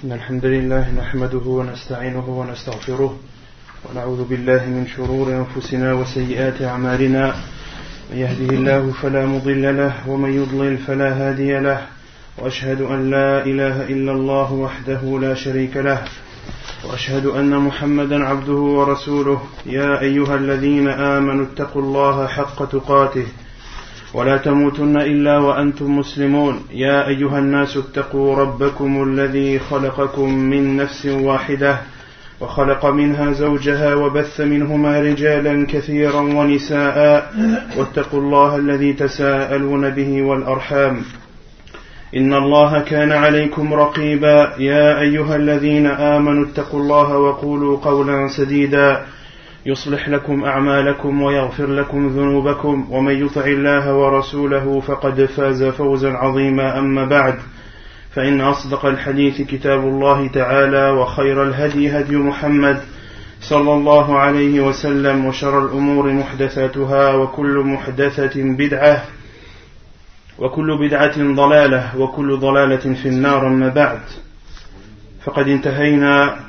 إن الحمد لله نحمده ونستعينه ونستغفره ونعوذ بالله من شرور أنفسنا وسيئات أعمالنا من يهده الله فلا مضل له ومن يضلل فلا هادي له وأشهد أن لا إله إلا الله وحده لا شريك له وأشهد أن محمدا عبده ورسوله يا أيها الذين آمنوا اتقوا الله حق تقاته ولا تموتن إلا وأنتم مسلمون يا أيها الناس اتقوا ربكم الذي خلقكم من نفس واحدة وخلق منها زوجها وبث منهما رجالا كثيرا ونساء واتقوا الله الذي تساءلون به والأرحام إن الله كان عليكم رقيبا يا أيها الذين آمنوا اتقوا الله وقولوا قولا سديدا يصلح لكم أعمالكم ويغفر لكم ذنوبكم ومن يطع الله ورسوله فقد فاز فوزا عظيما أما بعد فإن أصدق الحديث كتاب الله تعالى وخير الهدي هدي محمد صلى الله عليه وسلم وشر الأمور محدثاتها وكل محدثة بدعة وكل بدعة ضلالة وكل ضلالة في النار أما بعد فقد انتهينا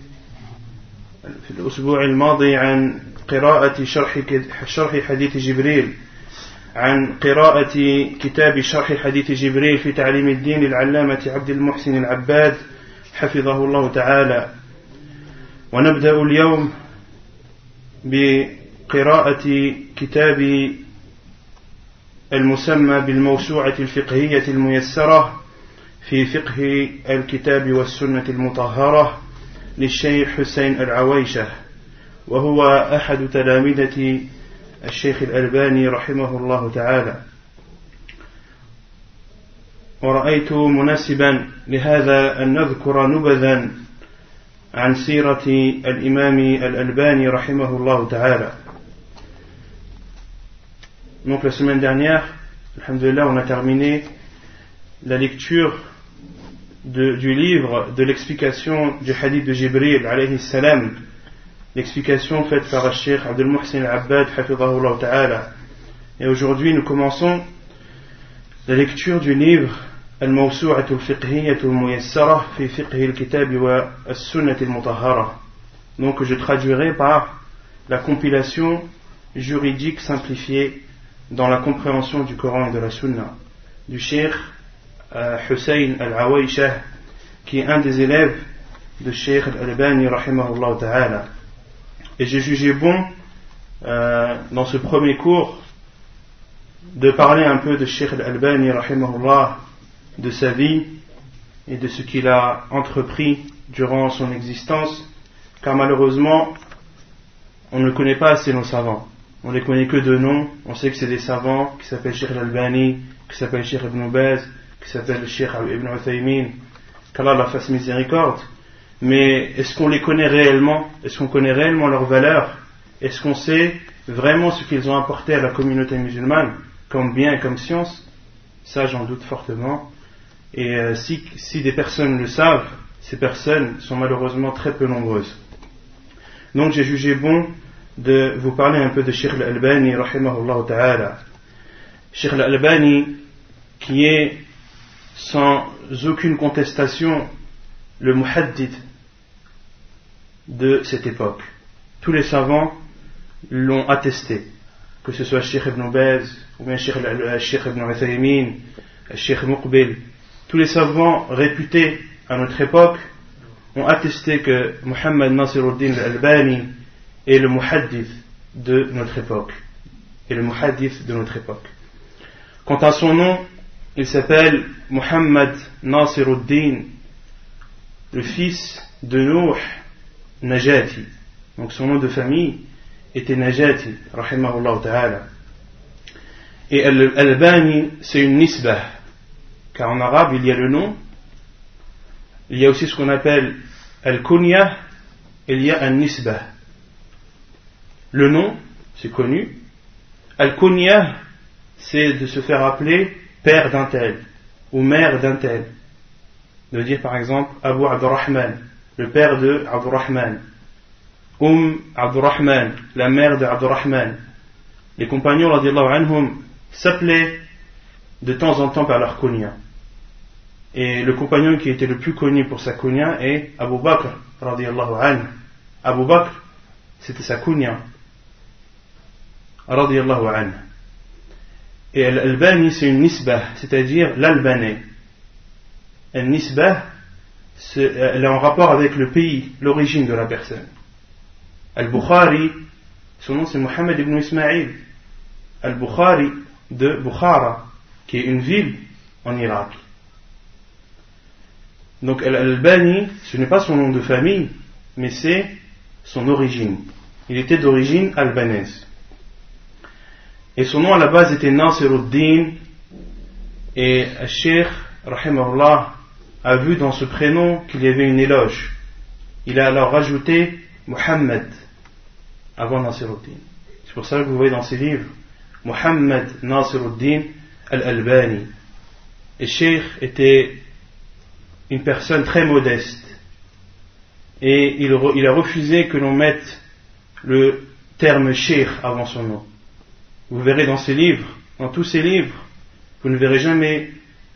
في الأسبوع الماضي عن قراءة شرح حديث جبريل عن قراءة كتاب شرح حديث جبريل في تعليم الدين للعلامة عبد المحسن العباد حفظه الله تعالى ونبدأ اليوم بقراءة كتاب المسمى بالموسوعة الفقهية الميسرة في فقه الكتاب والسنة المطهرة للشيخ حسين العويشة وهو أحد تلامذة الشيخ الألباني رحمه الله تعالى ورأيت مناسبا لهذا أن نذكر نبذا عن سيرة الإمام الألباني رحمه الله تعالى. Donc la semaine dernière, alhamdulillah, on a terminé la lecture du livre de l'explication du hadith de Jibril alayhi salam, l'explication faite par le Cheikh Abdul Muhsin al-Abbad hafidhahullah ta'ala. Et aujourd'hui nous commençons la lecture du livre Al-Mawsu'at al-Fiqhiyyah al-Muyassara fi Fiqh al-Kitab wa as-Sunnah al-Mutahhara. Donc je traduirai par la compilation juridique simplifiée dans la compréhension du Coran et de la Sunna du Cheikh Hussein al-Awaishah, qui est un des élèves de Cheikh al-Albani rahimahullah ta'ala. Et j'ai jugé bon dans ce premier cours de parler un peu de Cheikh al-Albani rahimahullah, de sa vie et de ce qu'il a entrepris durant son existence, car malheureusement on ne connaît pas assez nos savants. On les connaît que de nom. On sait que c'est des savants qui s'appellent Cheikh al-Albani, qui s'appellent Cheikh Ibn Baz, qui s'appelle le Cheikh Ibn Uthaymin, qu'Allah la fasse miséricorde. Mais est-ce qu'on les connaît réellement? Est-ce qu'on connaît réellement leur valeur? Est-ce qu'on sait vraiment ce qu'ils ont apporté à la communauté musulmane, comme bien et comme science? Ça, j'en doute fortement. Et si des personnes le savent, ces personnes sont malheureusement très peu nombreuses. Donc j'ai jugé bon de vous parler un peu de Cheikh al-Albani rahimahullah ta'ala. Cheikh al-Albani, qui est sans aucune contestation le muhaddith de cette époque. Tous les savants l'ont attesté, que ce soit Cheikh Ibn Baz ou bien Cheikh Ibn Uthaymin, Cheikh Muqbil. Tous les savants réputés à notre époque ont attesté que Muhammad Nasiruddin al-Albani est le muhaddith de notre époque. Quant à son nom, il s'appelle Muhammad Nasiruddin, le fils de Nuh Najati. Donc son nom de famille était Najati, rahimahullah ta'ala. Et Al-Albani, c'est une nisbah, car en arabe il y a le nom, il y a aussi ce qu'on appelle Al-Kunya, et il y a Al-Nisbah. Le nom, c'est connu. Al-Kunya, c'est de se faire appeler père d'un tel ou mère d'un tel. De dire par exemple Abu Abdurrahman, le père de Abdurrahman, Abdurrahman, la mère de Abdurrahman. Les compagnons radiyallahu anhum s'appelaient de temps en temps par leur kunya. Et le compagnon qui était le plus connu pour sa kunya est Abu Bakr radiyallahu anhu. Abu Bakr, c'était sa kunya radiyallahu anhu. Et Al-Albani, c'est une nisbah, c'est-à-dire l'Albanais. Al-nisbah, elle est en rapport avec le pays, l'origine de la personne. Al-Bukhari, son nom c'est Mohammed ibn Ismaïl. Al-Bukhari de Bukhara, qui est une ville en Irak. Donc Al-Albani, ce n'est pas son nom de famille, mais c'est son origine. Il était d'origine albanaise. Et son nom à la base était Nasiruddin, et Cheikh, rahimahullah, a vu dans ce prénom qu'il y avait une éloge. Il a alors rajouté Muhammad avant Nasiruddin. C'est pour ça que vous voyez dans ses livres Muhammad Nasiruddin al-Albani. Et Cheikh était une personne très modeste. Et il a refusé que l'on mette le terme Cheikh avant son nom. Vous verrez dans ses livres, dans tous ses livres, vous ne verrez jamais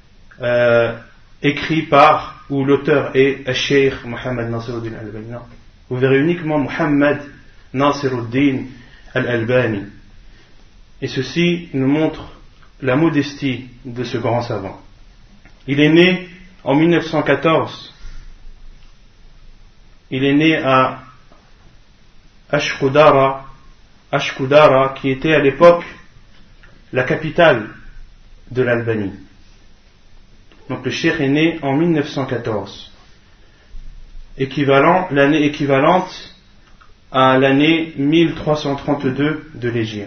écrit par, ou l'auteur est Cheikh Muhammad Nasiruddin al-Albani. Non. Vous verrez uniquement Muhammad Nasiruddin al-Albani. Et ceci nous montre la modestie de ce grand savant. Il est né en 1914. Il est né à Ashkudara, qui était à l'époque la capitale de l'Albanie. Donc le cheikh est né en 1914, l'année équivalente à l'année 1332 de l'Hégire.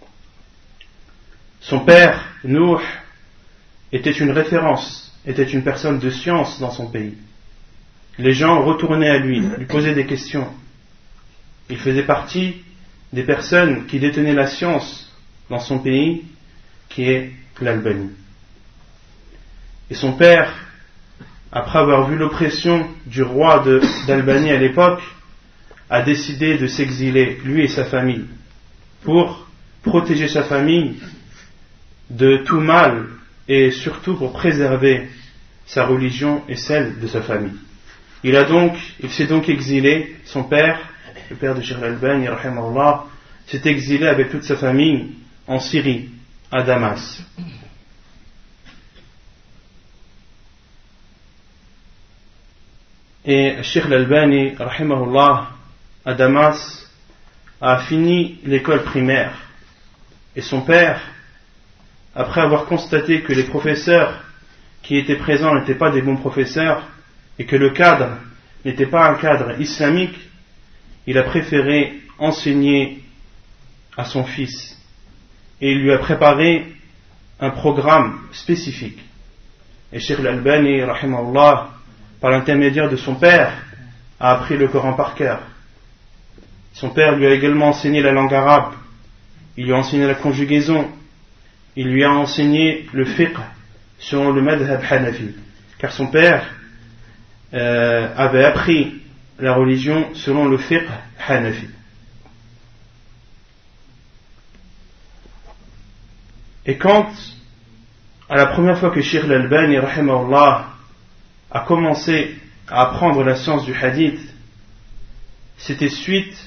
Son père, Nouh, était une référence, était une personne de science dans son pays. Les gens retournaient à lui posaient des questions. Il faisait partie des personnes qui détenaient la science dans son pays, qui est l'Albanie. Et son père, après avoir vu l'oppression du roi d'Albanie à l'époque, a décidé de s'exiler, lui et sa famille, pour protéger sa famille de tout mal et surtout pour préserver sa religion et celle de sa famille. Il s'est donc exilé, son père, le père de Cheikh Al-Albani, rahimahullah, s'est exilé avec toute sa famille en Syrie, à Damas. Et Cheikh Al-Albani, rahimahullah, à Damas, a fini l'école primaire. Et son père, après avoir constaté que les professeurs qui étaient présents n'étaient pas des bons professeurs, et que le cadre n'était pas un cadre islamique, il a préféré enseigner à son fils. Et il lui a préparé un programme spécifique. Et Cheikh Al-Albani, rahimahullah, par l'intermédiaire de son père, a appris le Coran par cœur. Son père lui a également enseigné la langue arabe, il lui a enseigné la conjugaison, il lui a enseigné le fiqh selon le madhab hanafi, car son père avait appris la religion selon le fiqh hanafi. Et quand, à la première fois que Cheikh Al-Albani, rahimahullah, a commencé à apprendre la science du hadith, c'était suite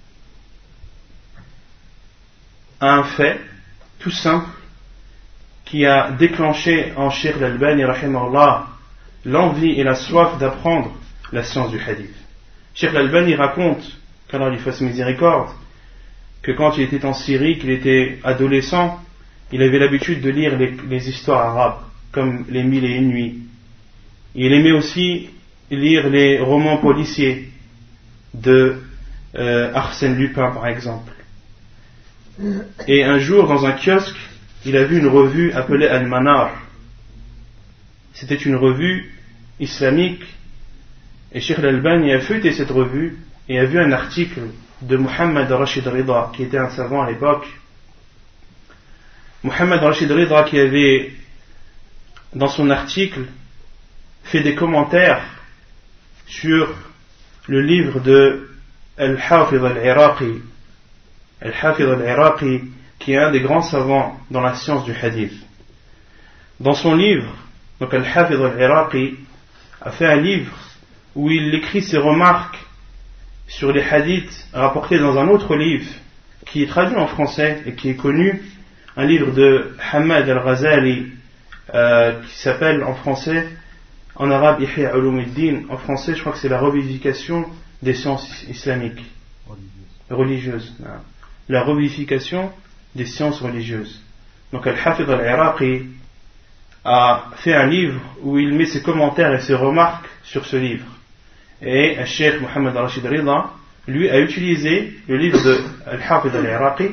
à un fait tout simple qui a déclenché en Cheikh Al-Albani, rahimahullah, l'envie et la soif d'apprendre la science du hadith. Cheikh Al-Albani raconte, qu'Allah lui fasse miséricorde, que quand il était en Syrie, qu'il était adolescent, il avait l'habitude de lire les histoires arabes, comme les 1001 nuits. Il aimait aussi lire les romans policiers de Arsène Lupin, par exemple. Et un jour, dans un kiosque, il a vu une revue appelée Al-Manar. C'était une revue islamique, et Cheikh Al-Albani a feuilleté cette revue et a vu un article de Mohammed Rashid Rida, qui était un savant à l'époque. Mohammed Rashid Rida, qui avait, dans son article, fait des commentaires sur le livre de Al-Hafidh al-Iraqi. Al-Hafidh al-Iraqi, qui est un des grands savants dans la science du hadith. Dans son livre, Donc Al-Hafidh al-Iraqi a fait un livre où il écrit ses remarques sur les hadiths rapportés dans un autre livre qui est traduit en français et qui est connu, un livre de Hamad al-Ghazali qui s'appelle en français, en arabe Ihya Ulumuddin, en français je crois que c'est la revivification des sciences islamiques religieuses. La revivification des sciences religieuses. Donc Al-Hafidh al-Iraqi a fait un livre où il met ses commentaires et ses remarques sur ce livre. Et le Cheikh Mohammed Rashid Rida, lui, a utilisé le livre de Al-Hafidh al-Iraqi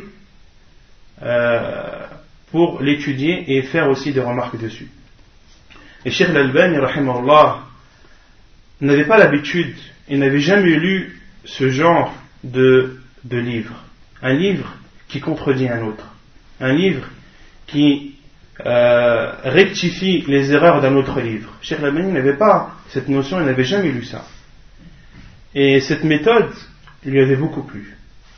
pour l'étudier et faire aussi des remarques dessus. Et Cheikh Al-Albani, rahimahullah, n'avait pas l'habitude, il n'avait jamais lu ce genre de livre. Un livre qui contredit un autre. Un livre qui rectifie les erreurs d'un autre livre. Cheikh Al-Albani n'avait pas cette notion, il n'avait jamais lu ça. Et cette méthode lui avait beaucoup plu.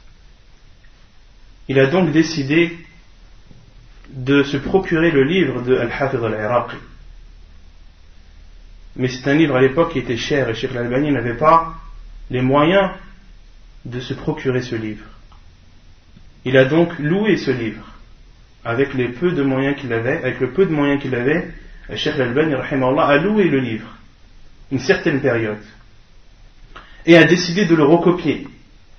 Il a donc décidé de se procurer le livre de Al-Hafidh al-Iraqi. Mais c'est un livre à l'époque qui était cher et Cheikh Al-Albani n'avait pas les moyens de se procurer ce livre. Il a donc loué ce livre avec le peu de moyens qu'il avait, Cheikh Al-Albani rahimahullah a loué le livre une certaine période et a décidé de le recopier.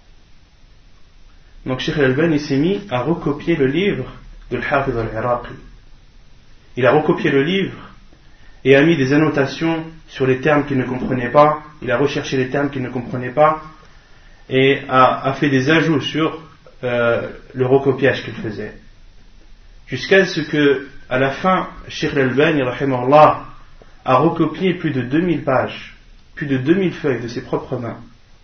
Donc Cheikh Al-Albani s'est mis à recopier le livre de Al-Hafidh al-Iraqi. Il a recopié le livre et a mis des annotations sur les termes qu'il ne comprenait pas, il a recherché les termes qu'il ne comprenait pas et a fait des ajouts sur le recopiage qu'il faisait. Jusqu'à ce que, à la fin, Cheikh Al-Albani rahimahullah a recopié plus de 2000 pages, plus de 2000 feuilles de ses propres mains.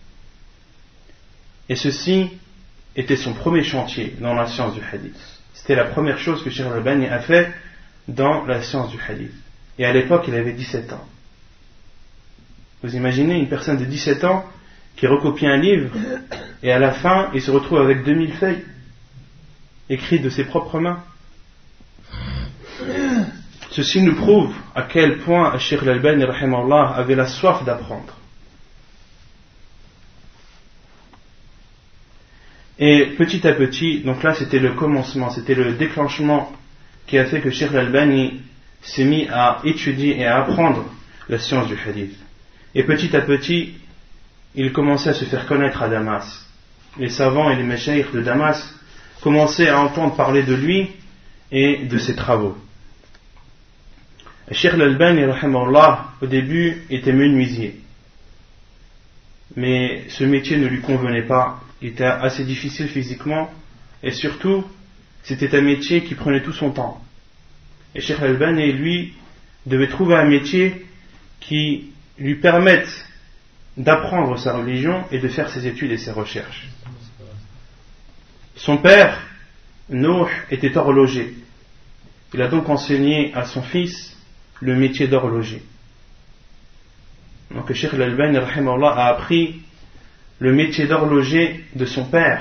Et ceci était son premier chantier dans la science du hadith. C'était la première chose que Cheikh Al-Albani a fait dans la science du hadith. Et à l'époque, il avait 17 ans. Vous imaginez une personne de 17 ans qui recopie un livre et à la fin, il se retrouve avec 2000 feuilles écrites de ses propres mains. Ceci nous prouve à quel point Cheikh Al-Albani rahimahullah avait la soif d'apprendre. Et petit à petit, donc là c'était le commencement, c'était le déclenchement qui a fait que Cheikh Al-Albani s'est mis à étudier et à apprendre la science du hadith. Et petit à petit, il commençait à se faire connaître à Damas. Les savants et les méchaïrs de Damas commençaient à entendre parler de lui et de ses travaux. Cheikh Al-Albani rahimahullah au début était menuisier, mais ce métier ne lui convenait pas, il était assez difficile physiquement et surtout c'était un métier qui prenait tout son temps. Et Cheikh Al-Albani lui devait trouver un métier qui lui permette d'apprendre sa religion et de faire ses études et ses recherches. Son père, Nouh, était horloger. Il a donc enseigné à son fils le métier d'horloger. Donc Cheikh Al-Albani rahimahullah a appris le métier d'horloger de son père.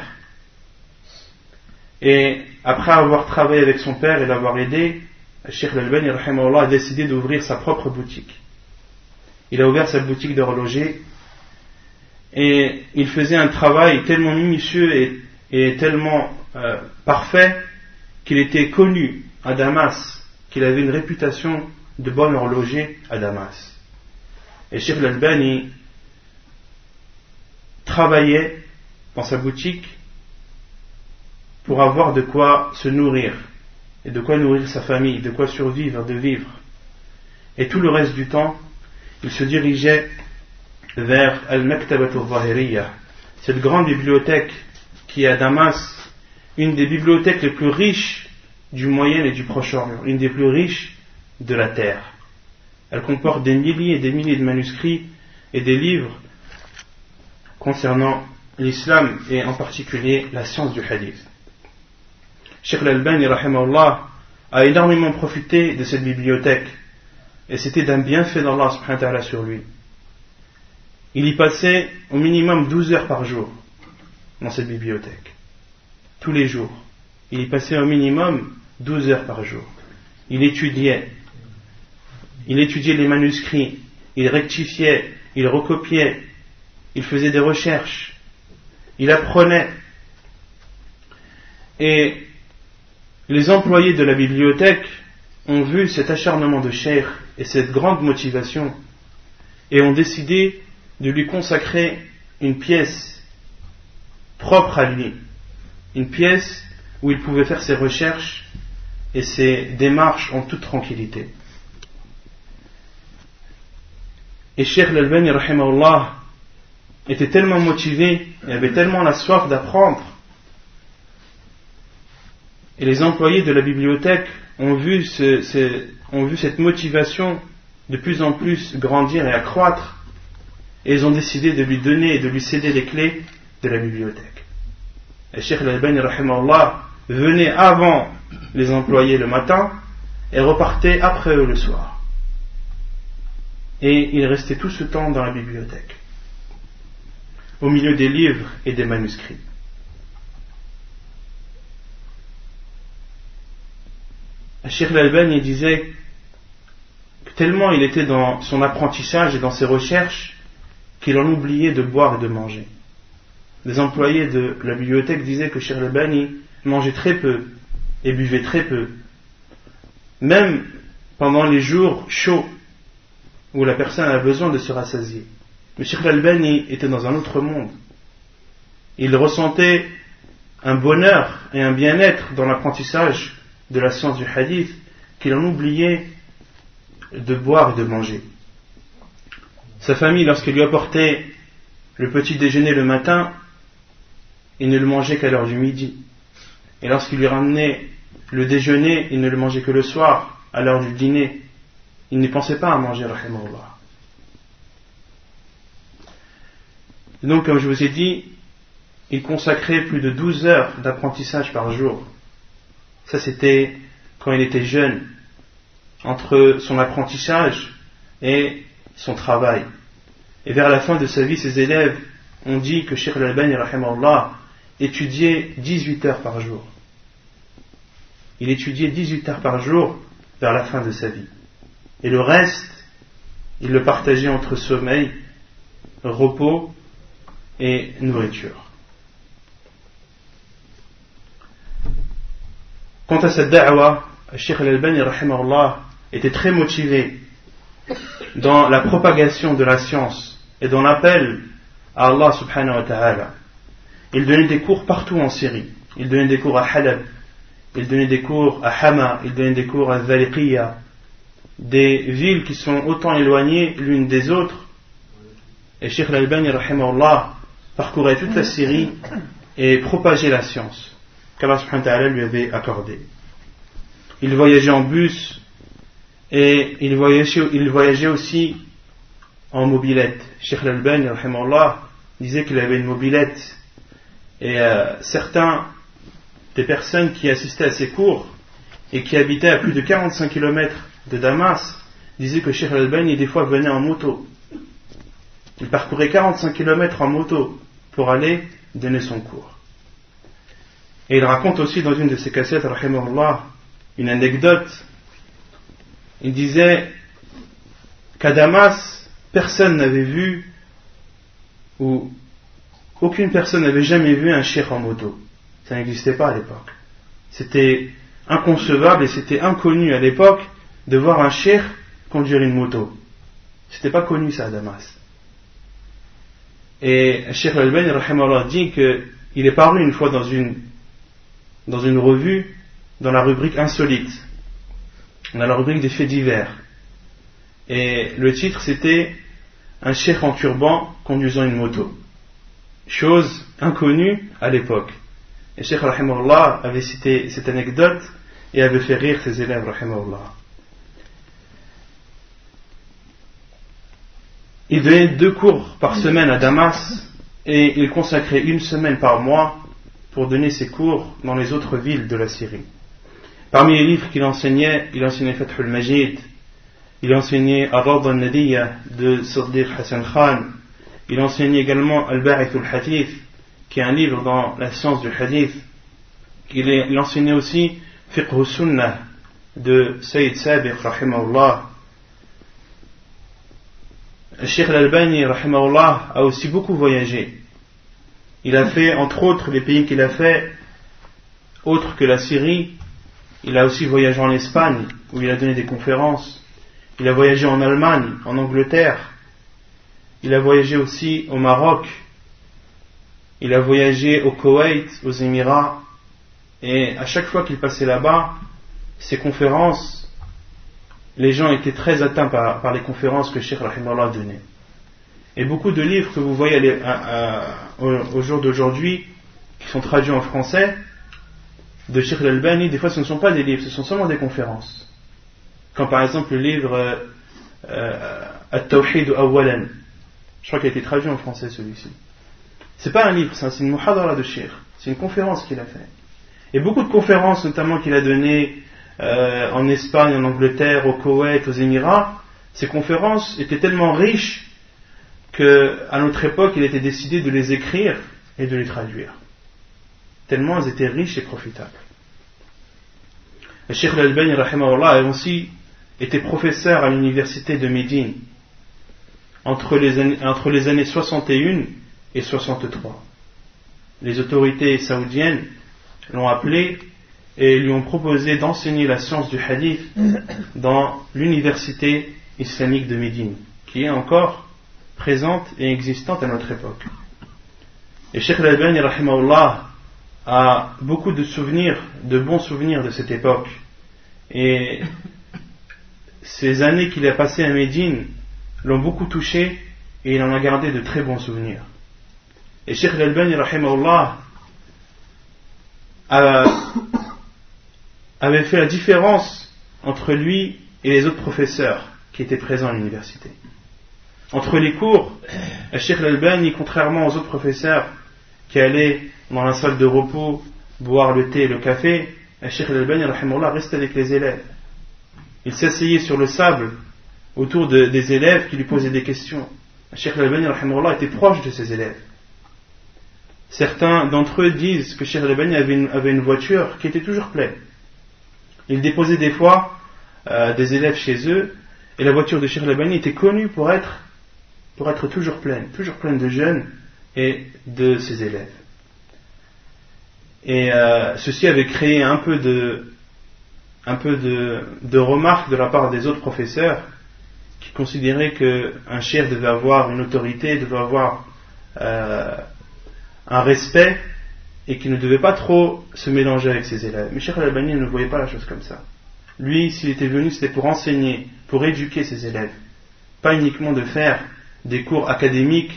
Et après avoir travaillé avec son père et l'avoir aidé, Cheikh Al-Albani rahimahullah a décidé d'ouvrir sa propre boutique. Il a ouvert sa boutique d'horloger et il faisait un travail tellement minutieux et tellement parfait qu'il était connu à Damas, qu'il avait une réputation de bon horloger à Damas. Et Cheikh Al-Albani travaillait dans sa boutique pour avoir de quoi se nourrir et de quoi nourrir sa famille, de quoi survivre, de vivre. Et tout le reste du temps, il se dirigeait vers Al-Maktabat al-Zahiriyya, cette grande bibliothèque qui est à Damas, une des bibliothèques les plus riches du Moyen et du Proche-Orient, une des plus riches de la terre. Elle comporte des milliers et des milliers de manuscrits et des livres concernant l'islam et en particulier la science du hadith. Cheikh Al-Albani rahimahullah a énormément profité de cette bibliothèque et c'était d'un bienfait d'Allah subhanahu wa ta'ala sur lui. Il y passait au minimum 12 heures par jour dans cette bibliothèque, tous les jours. Il y passait au minimum 12 heures par jour. Il étudiait il étudiait les manuscrits, il rectifiait, il recopiait, il faisait des recherches, il apprenait. Et les employés de la bibliothèque ont vu cet acharnement de Cheikh et cette grande motivation et ont décidé de lui consacrer une pièce propre à lui, une pièce où il pouvait faire ses recherches et ses démarches en toute tranquillité. Et Cheikh Al-Albani rahimahullah était tellement motivé et avait tellement la soif d'apprendre, et les employés de la bibliothèque ont vu cette motivation de plus en plus grandir et accroître, et ils ont décidé de lui donner et de lui céder les clés de la bibliothèque. Et Cheikh Al-Albani rahimahullah venait avant les employés le matin et repartait après eux le soir. Et il restait tout ce temps dans la bibliothèque, au milieu des livres et des manuscrits. Cheikh Al-Albani disait que tellement il était dans son apprentissage et dans ses recherches qu'il en oubliait de boire et de manger. Les employés de la bibliothèque disaient que Cheikh Al-Albani mangeait très peu et buvait très peu, même pendant les jours chauds où la personne a besoin de se rassasier. Mais Cheikh Al-Albani était dans un autre monde. Il ressentait un bonheur et un bien-être dans l'apprentissage de la science du hadith qu'il en oubliait de boire et de manger. Sa famille, lorsqu'elle lui apportait le petit déjeuner le matin, il ne le mangeait qu'à l'heure du midi. Et lorsqu'il lui ramenait le déjeuner, il ne le mangeait que le soir, à l'heure du dîner. Il ne pensait pas à manger, rahimahullah. Donc, comme je vous ai dit, il consacrait plus de 12 heures d'apprentissage par jour. Ça, c'était quand il était jeune, entre son apprentissage et son travail. Et vers la fin de sa vie, ses élèves ont dit que Cheikh Al-Albani, rahimahullah, étudiait 18 heures par jour. Il étudiait 18 heures par jour vers la fin de sa vie. Et le reste, il le partageait entre sommeil, repos et nourriture. Quant à cette da'wa, Cheikh Al-Albani rahimahullah était très motivé dans la propagation de la science et dans l'appel à Allah subhanahu wa ta'ala. Il donnait des cours partout en Syrie. Il donnait des cours à Halab, il donnait des cours à Hama, il donnait des cours à Dhaliqiya, des villes qui sont autant éloignées l'une des autres. Et Cheikh Al-Albani rahimahullah parcourait toute la Syrie et propageait la science qu'Allah subhanahu wa ta'ala lui avait accordée. Il voyageait en bus et il voyageait aussi en mobilette. Cheikh Al-Albani rahimahullah disait qu'il avait une mobilette, et certains des personnes qui assistaient à ses cours et qui habitaient à plus de 45 km de Damas disaient que Cheikh Al-Albani des fois venait en moto. Il parcourait 45 km en moto pour aller donner son cours. Et il raconte aussi dans une de ses cassettes, rahimahullah, une anecdote. Il disait qu'à Damas, personne n'avait vu, ou aucune personne n'avait jamais vu un cheikh en moto. Ça n'existait pas à l'époque. C'était inconcevable et c'était inconnu à l'époque de voir un cheikh conduire une moto. C'était pas connu ça à Damas. Et Cheikh Al-Albani rahimahullah dit qu'il est paru une fois dans une revue, dans la rubrique insolite, dans la rubrique des faits divers. Et le titre c'était un cheikh en turban conduisant une moto. Chose inconnue à l'époque. Et Cheikh rahimahullah avait cité cette anecdote et avait fait rire ses élèves rahimahullah. Il donnait 2 cours par semaine à Damas et il consacrait 1 semaine par mois pour donner ses cours dans les autres villes de la Syrie. Parmi les livres qu'il enseignait, il enseignait Fath al-Majid, il enseignait Ar-Rawda al-Nadiyya de Siddiq Hassan Khan, il enseignait également Al-Ba'ith al-Hadith, qui est un livre dans la science du hadith. Il enseignait aussi Fiqh al-Sunnah de Sayyid Sabiq rahimahullah, Cheikh Al-Albani, rahimahullah, a aussi beaucoup voyagé. Il a fait, entre autres, les pays qu'il a fait, autres que la Syrie. Il a aussi voyagé en Espagne, où il a donné des conférences. Il a voyagé en Allemagne, en Angleterre. Il a voyagé aussi au Maroc. Il a voyagé au Koweït, aux Émirats. Et à chaque fois qu'il passait là-bas, ses conférences, les gens étaient très atteints par les conférences que Cheikh Rahimahullah donnait. Et beaucoup de livres que vous voyez au jour d'aujourd'hui, qui sont traduits en français, de Cheikh Al-Albani, des fois ce ne sont pas des livres, ce sont seulement des conférences. Comme par exemple le livre At-Tawhid Awwalan. Je crois qu'il a été traduit en français celui-ci. C'est pas un livre, c'est une muhadara de Cheikh. C'est une conférence qu'il a fait. Et beaucoup de conférences, notamment qu'il a données en Espagne, en Angleterre, au Koweït, aux Émirats, ces conférences étaient tellement riches qu'à notre époque, il était décidé de les écrire et de les traduire. Tellement elles étaient riches et profitables. Le Cheikh Al-Albani, rahimahullah, a aussi été professeur à l'université de Médine entre les années 61 et 63. Les autorités saoudiennes l'ont appelé et lui ont proposé d'enseigner la science du hadith dans l'université islamique de Médine, qui est encore présente et existante à notre époque. Et Cheikh Al-Albani, rahimahullah, a beaucoup de souvenirs, de bons souvenirs de cette époque. Et ces années qu'il a passées à Médine l'ont beaucoup touché et il en a gardé de très bons souvenirs. Et Cheikh Al-Albani, rahimahullah, avait fait la différence entre lui et les autres professeurs qui étaient présents à l'université. Entre les cours, Cheikh Al-Albani, contrairement aux autres professeurs qui allaient dans la salle de repos boire le thé et le café, Cheikh Al-Albani, rahimahullah, restait avec les élèves. Il s'asseyait sur le sable autour des élèves qui lui posaient des questions. Cheikh Al-Albani, rahimahullah, était proche de ses élèves. Certains d'entre eux disent que Cheikh Al-Albani avait une voiture qui était toujours pleine. Il déposait des fois des élèves chez eux, et la voiture de Cheikh Al-Albani était connue pour être toujours pleine de jeunes et de ses élèves. Et ceci avait créé un peu de remarques de la part des autres professeurs qui considéraient qu'un cheikh devait avoir une autorité, devait avoir un respect et qu'il ne devait pas trop se mélanger avec ses élèves. Mais Cheikh Al-Albani ne voyait pas la chose comme ça. Lui, s'il était venu, c'était pour enseigner, pour éduquer ses élèves, pas uniquement de faire des cours académiques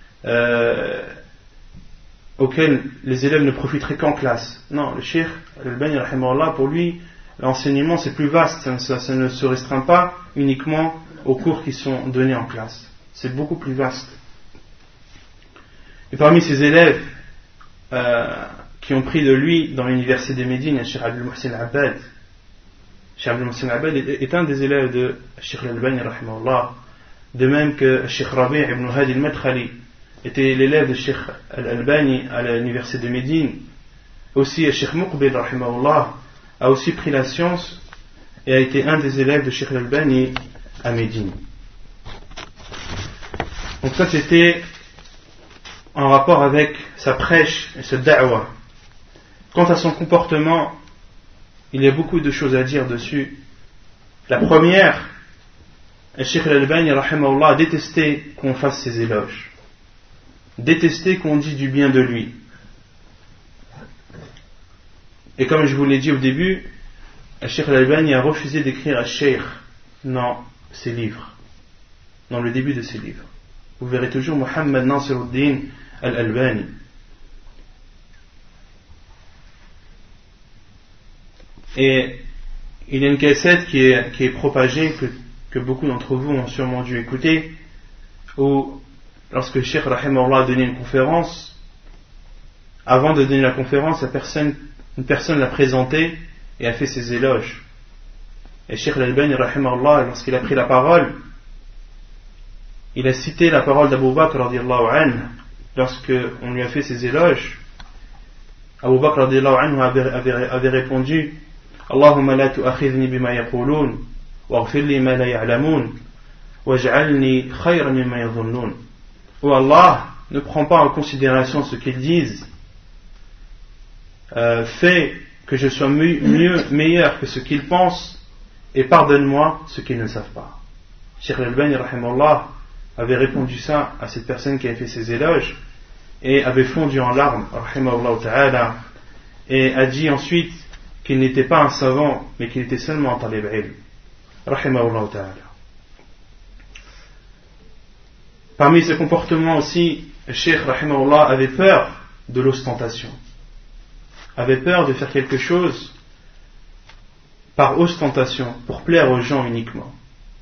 auxquels les élèves ne profiteraient qu'en classe. Non, le Cheikh Al-Albani, rahimahullah, pour lui, l'enseignement c'est plus vaste, ça ne se restreint pas uniquement aux cours qui sont donnés en classe. C'est beaucoup plus vaste. Et parmi ses élèves qui ont pris de lui dans l'université de Médine, il y a Cheikh Abdul Muhsin Abbad. Cheikh Abdul Muhsin Abbad est un des élèves de Cheikh Al-Albani, rahimahullah, de même que Cheikh Rabi' ibn Hadi al-Madkhali était l'élève de Cheikh Al-Albani à l'université de Médine. Aussi Cheikh Muqbil, rahimahullah, a aussi pris la science et a été un des élèves de Cheikh Al-Albani à Médine. Donc ça c'était en rapport avec sa prêche et sa da'wa. Quant à son comportement, il y a beaucoup de choses à dire dessus. La première, Cheikh Al-Albani, rahimahullah, a détesté qu'on fasse ses éloges, détesté qu'on dise du bien de lui. Et comme je vous l'ai dit au début, Cheikh Al-Albani a refusé d'écrire à Cheikh dans ses livres, dans le début de ses livres. Vous verrez toujours Muhammad Nasiruddin Al-Albani. Et il y a une cassette qui est propagée, que beaucoup d'entre vous ont sûrement dû écouter, où lorsque le Cheikh rahimahullah a donné une conférence, avant de donner la conférence, une personne l'a présenté et a fait ses éloges. Et Cheikh Al-Albani rahimahullah, lorsqu'il a pris la parole, il a cité la parole d'Abu Bakr radiyallahu anhu lorsque on lui a fait ses éloges. Abu Bakr radiyallahu anhu avait répondu: Allahumma la tu'akhidhni bima yaqulun waghfir li ma la ya'lamun, وَاجْعَلْنِي خَيْرًا مِمَّا يَظُنُّونَ. Oh Allah, ne prends pas en considération ce qu'ils disent, fais que je sois meilleur que ce qu'ils pensent, et pardonne-moi ce qu'ils ne savent pas. Cheikh Al-Albani rahimahullah avait répondu ça à cette personne qui avait fait ses éloges et avait fondu en larmes rahimahullah ta'ala, et a dit ensuite qu'il n'était pas un savant mais qu'il était seulement un talib ilm rahimahullah ta'ala. Parmi ses comportements aussi, le Cheikh rahimahullah avait peur de l'ostentation, avait peur de faire quelque chose par ostentation, pour plaire aux gens uniquement.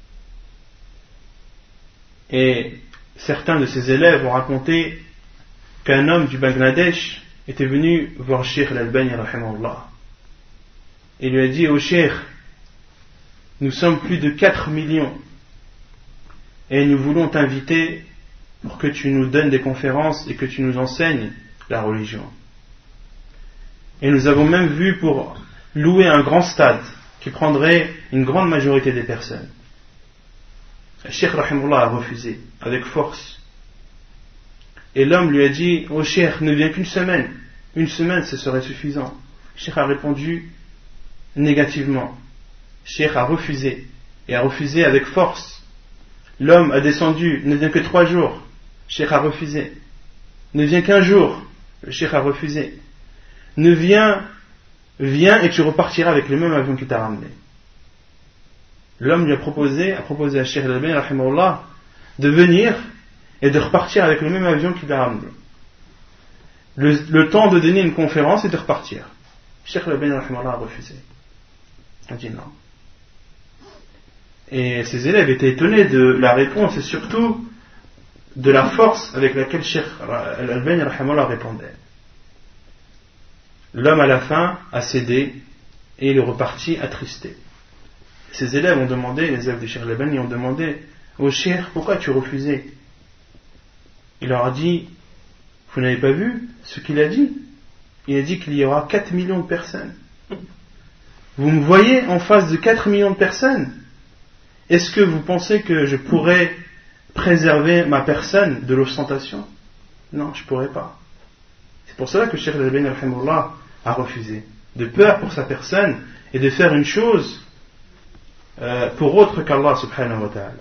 Et certains de ses élèves ont raconté qu'un homme du Bangladesh était venu voir Cheikh Al-Albani rahimahullah et lui a dit: ô Cheikh, nous sommes plus de 4 millions et nous voulons t'inviter pour que tu nous donnes des conférences et que tu nous enseignes la religion. Et nous avons même vu pour louer un grand stade qui prendrait une grande majorité des personnes. Le Cheikh rahimahullah a refusé avec force. Et l'homme lui a dit: ô Cheikh, ne viens qu'une semaine. Une semaine, ce serait suffisant. Le Cheikh a répondu négativement. Le Cheikh a refusé, et a refusé avec force. L'homme a descendu: ne viens que 3 jours. Le Cheikh a refusé. Ne viens qu'un jour. Le Cheikh a refusé. Ne viens et tu repartiras avec le même avion qui t'a ramené. L'homme lui a proposé à Cheikh Al-Albani rahimahullah de venir et de repartir avec le même avion qui l'a ramené. Le temps de donner une conférence et de repartir. Cheikh Al-Albani rahimahullah a refusé. Il a dit non. Et ses élèves étaient étonnés de la réponse et surtout de la force avec laquelle Cheikh Al-Albani rahimahullah répondait. L'homme à la fin a cédé et il est reparti attristé. Ses élèves ont demandé, les élèves de Cheikh Al-Albani ont demandé: ô Cheikh, pourquoi tu refusais? Il leur a dit: vous n'avez pas vu ce qu'il a dit? Il a dit qu'il y aura 4 millions de personnes. Vous me voyez en face de 4 millions de personnes? Est-ce que vous pensez que je pourrais préserver ma personne de l'ostentation? Non, je ne pourrais pas. C'est pour cela que Cheikh Al-Albani rahimahullah a refusé, de peur pour sa personne et de faire une chose pour autre qu'Allah subhanahu wa ta'ala.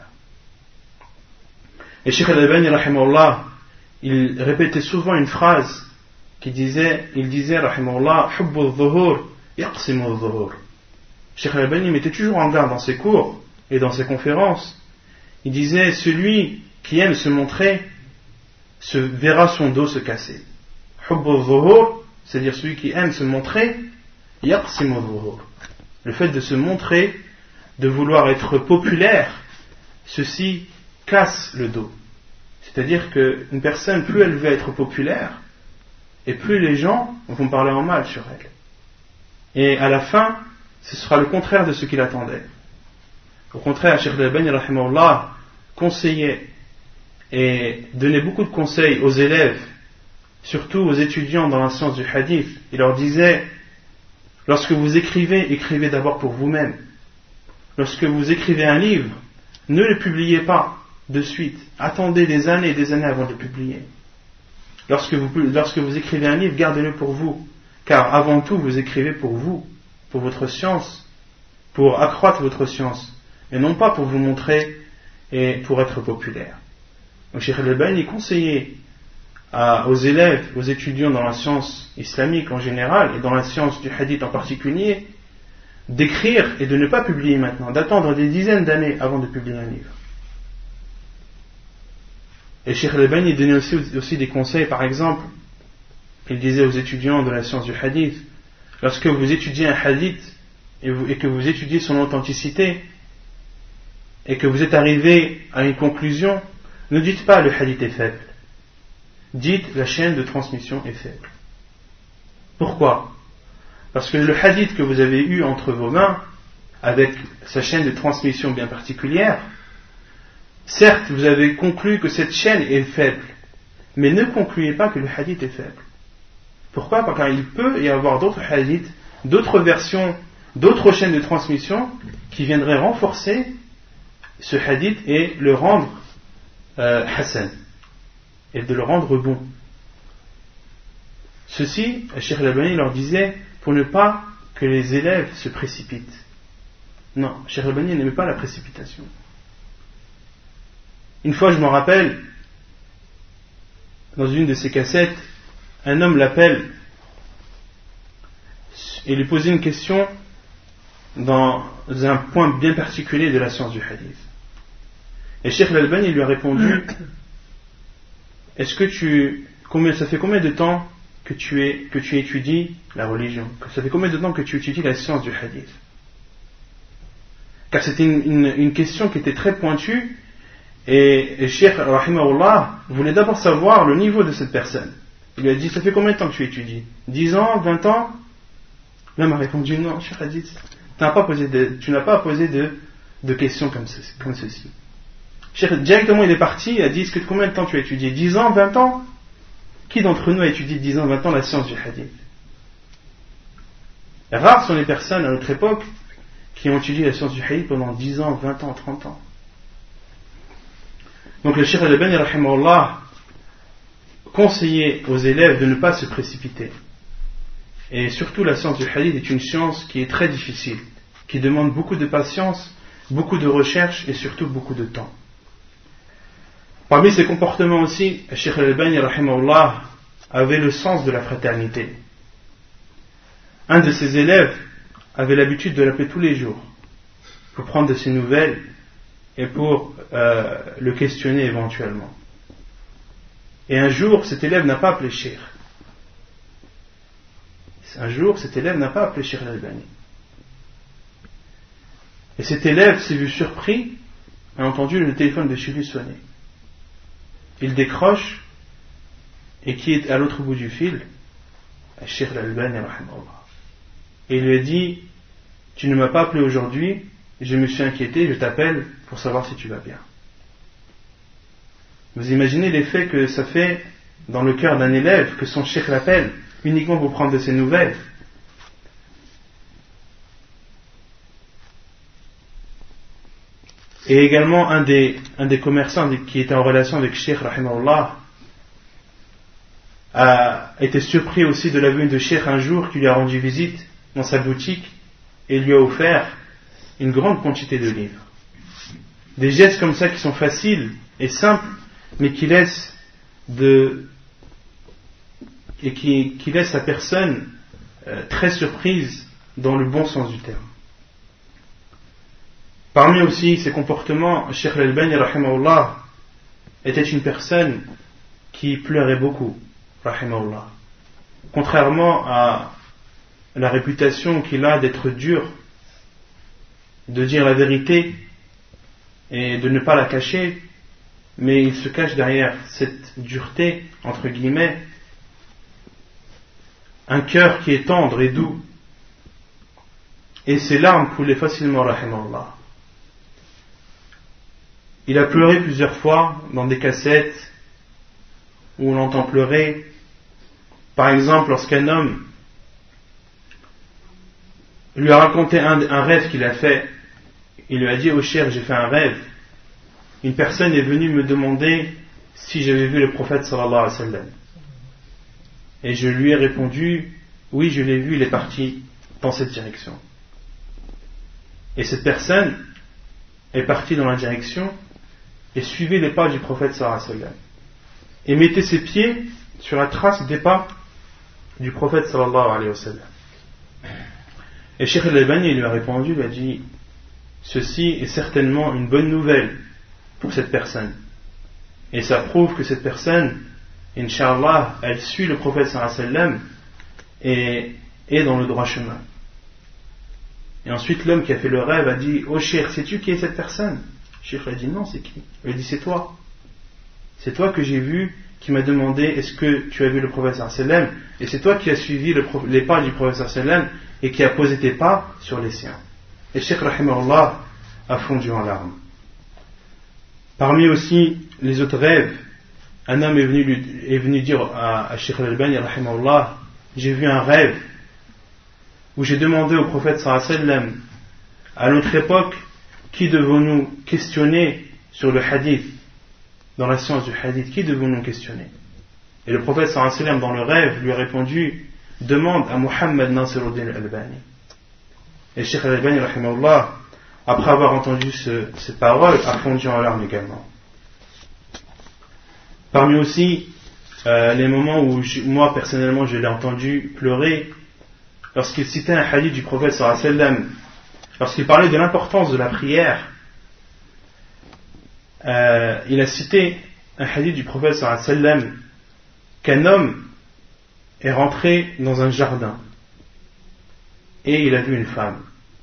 Et Cheikh Al-Albani rahimahullah, il répétait souvent une phrase il disait rahimahullah: hubbu al-dhuhur yaqsimu al-dhuhur. Cheikh Al-Albani mettait toujours en garde dans ses cours et dans ses conférences. Il disait: celui qui aime se montrer se verra son dos se casser. Hubbu al-dhuhur, c'est-à-dire celui qui aime se montrer, yaqsimu al-dhuhur. Le fait de se montrer, de vouloir être populaire, ceci casse le dos. C'est-à-dire qu'une personne, plus elle veut être populaire, et plus les gens vont parler en mal sur elle. Et à la fin, ce sera le contraire de ce qu'il attendait. Au contraire, Cheikh Al-Albani rahimahullah conseillait et donnait beaucoup de conseils aux élèves, surtout aux étudiants dans la science du hadith. Il leur disait: lorsque vous écrivez, écrivez d'abord pour vous-même. Lorsque vous écrivez un livre, ne le publiez pas de suite. Attendez des années et des années avant de le publier. Lorsque vous écrivez un livre, gardez-le pour vous. Car avant tout, vous écrivez pour vous, pour votre science, pour accroître votre science, et non pas pour vous montrer et pour être populaire. Donc Cheikh Al-Albani conseillait aux élèves, aux étudiants dans la science islamique en général, et dans la science du hadith en particulier, d'écrire et de ne pas publier maintenant, d'attendre des dizaines d'années avant de publier un livre. Et Cheikh Al-Albani donnait aussi des conseils. Par exemple, il disait aux étudiants de la science du hadith: lorsque vous étudiez un hadith et que vous étudiez son authenticité et que vous êtes arrivé à une conclusion, ne dites pas le hadith est faible, dites la chaîne de transmission est faible. Pourquoi? Parce que le hadith que vous avez eu entre vos mains, avec sa chaîne de transmission bien particulière, certes, vous avez conclu que cette chaîne est faible, mais ne concluez pas que le hadith est faible. Pourquoi? Parce qu'il peut y avoir d'autres hadiths, d'autres versions, d'autres chaînes de transmission qui viendraient renforcer ce hadith et le rendre Hassan, et de le rendre bon. Ceci, Cheikh Al-Albani leur disait pour ne pas que les élèves se précipitent. Non, Cheikh Al-Albani n'aimait pas la précipitation. Une fois, je m'en rappelle, dans une de ses cassettes, un homme l'appelle et lui posait une question dans un point bien particulier de la science du hadith. Et Cheikh Al-Albani lui a répondu: ça fait combien de temps que tu étudies la religion? Ça fait combien de temps que tu étudies la science du hadith? Car c'était une question qui était très pointue, et Cheikh Rahimahullah voulait d'abord savoir le niveau de cette personne. Il lui a dit: ça fait combien de temps que tu étudies? 10 ans, 20 ans? L'homme a répondu: non, Cheikh a dit, tu n'as pas posé de questions comme ceci. Cheikh, directement il est parti, il a dit: combien de temps tu as étudié? 10 ans, 20 ans? Qui d'entre nous a étudié 10 ans, 20 ans la science du hadith? Rares sont les personnes à notre époque qui ont étudié la science du hadith pendant 10 ans, 20 ans, 30 ans. Donc le Cheikh Al-Albani rahimahullah conseillait aux élèves de ne pas se précipiter. Et surtout la science du hadith est une science qui est très difficile, qui demande beaucoup de patience, beaucoup de recherche et surtout beaucoup de temps. Parmi ses comportements aussi, Cheikh Al-Albani rahimahullah avait le sens de la fraternité. Un de ses élèves avait l'habitude de l'appeler tous les jours pour prendre de ses nouvelles et pour le questionner éventuellement. Et un jour, cet élève n'a pas appelé Cheikh. Al-Albani. Et cet élève s'est vu surpris, a entendu le téléphone de chez lui sonner. Il décroche, et qui est à l'autre bout du fil? Cheikh Al-Albani rahimahullah. Et il lui a dit: tu ne m'as pas appelé aujourd'hui, je me suis inquiété, je t'appelle pour savoir si tu vas bien. Vous imaginez l'effet que ça fait dans le cœur d'un élève que son cheikh l'appelle uniquement pour prendre de ses nouvelles. Et également un des commerçants qui était en relation avec Cheikh rahimahullah a été surpris aussi de la venue de Cheikh un jour qui lui a rendu visite dans sa boutique et lui a offert une grande quantité de livres. Des gestes comme ça qui sont faciles et simples, mais qui laissent qui laissent la personne très surprise dans le bon sens du terme. Parmi aussi ses comportements, Cheikh Al-Albani rahimahullah était une personne qui pleurait beaucoup, rahimahullah. Contrairement à la réputation qu'il a d'être dur, de dire la vérité et de ne pas la cacher, mais il se cache derrière cette dureté, entre guillemets, un cœur qui est tendre et doux, et ses larmes coulaient facilement, rahimahullah. Il a pleuré plusieurs fois dans des cassettes où on l'entend pleurer. Par exemple, lorsqu'un homme lui a raconté un rêve qu'il a fait, il lui a dit: oh cher, j'ai fait un rêve. Une personne est venue me demander si j'avais vu le prophète sallallahu alayhi wa sallam. Et je lui ai répondu: oui, je l'ai vu, il est parti dans cette direction. Et cette personne est partie dans la direction et suivait les pas du prophète sallallahu alayhi wa sallam. Et mettait ses pieds sur la trace des pas du prophète sallallahu alayhi wa sallam. Et Cheikh Al-Albani lui a répondu, lui a dit: ceci est certainement une bonne nouvelle pour cette personne. Et ça prouve que cette personne, Inch'Allah, elle suit le prophète sallallahu alayhi wa sallam et est dans le droit chemin. Et ensuite l'homme qui a fait le rêve a dit: oh Cheikh, sais-tu qui est cette personne? Cheikh a dit: non, c'est qui? Il a dit: c'est toi. C'est toi que j'ai vu, qui m'a demandé: est-ce que tu as vu le prophète sallallahu alayhi wa sallam? Et c'est toi qui as suivi les pas du prophète sallallahu alayhi wa sallam et qui a posé tes pas sur les siens. Et Cheikh rahimahullah a fondu en larmes. Parmi aussi les autres rêves, un homme est venu dire à Cheikh Al-Albani rahimahullah: j'ai vu un rêve où j'ai demandé au prophète sallallahu alayhi wa sallam, à notre époque, qui devons-nous questionner sur le hadith, dans la science du hadith, qui devons-nous questionner? Et le prophète sallallahu alayhi wa sallam, dans le rêve, lui a répondu, demande à Muhammad Nasiruddin al-Albani. Et Cheikh al-Albani, rahimahullah, après avoir entendu ces paroles, a fondu en larmes également. Parmi aussi les moments où moi personnellement je l'ai entendu pleurer, lorsqu'il citait un hadith du prophète sallallahu alayhi wa sallam, lorsqu'il parlait de l'importance de la prière, il a cité un hadith du prophète sallallahu alayhi wa sallam, qu'un homme est rentré dans un jardin et il a vu une femme.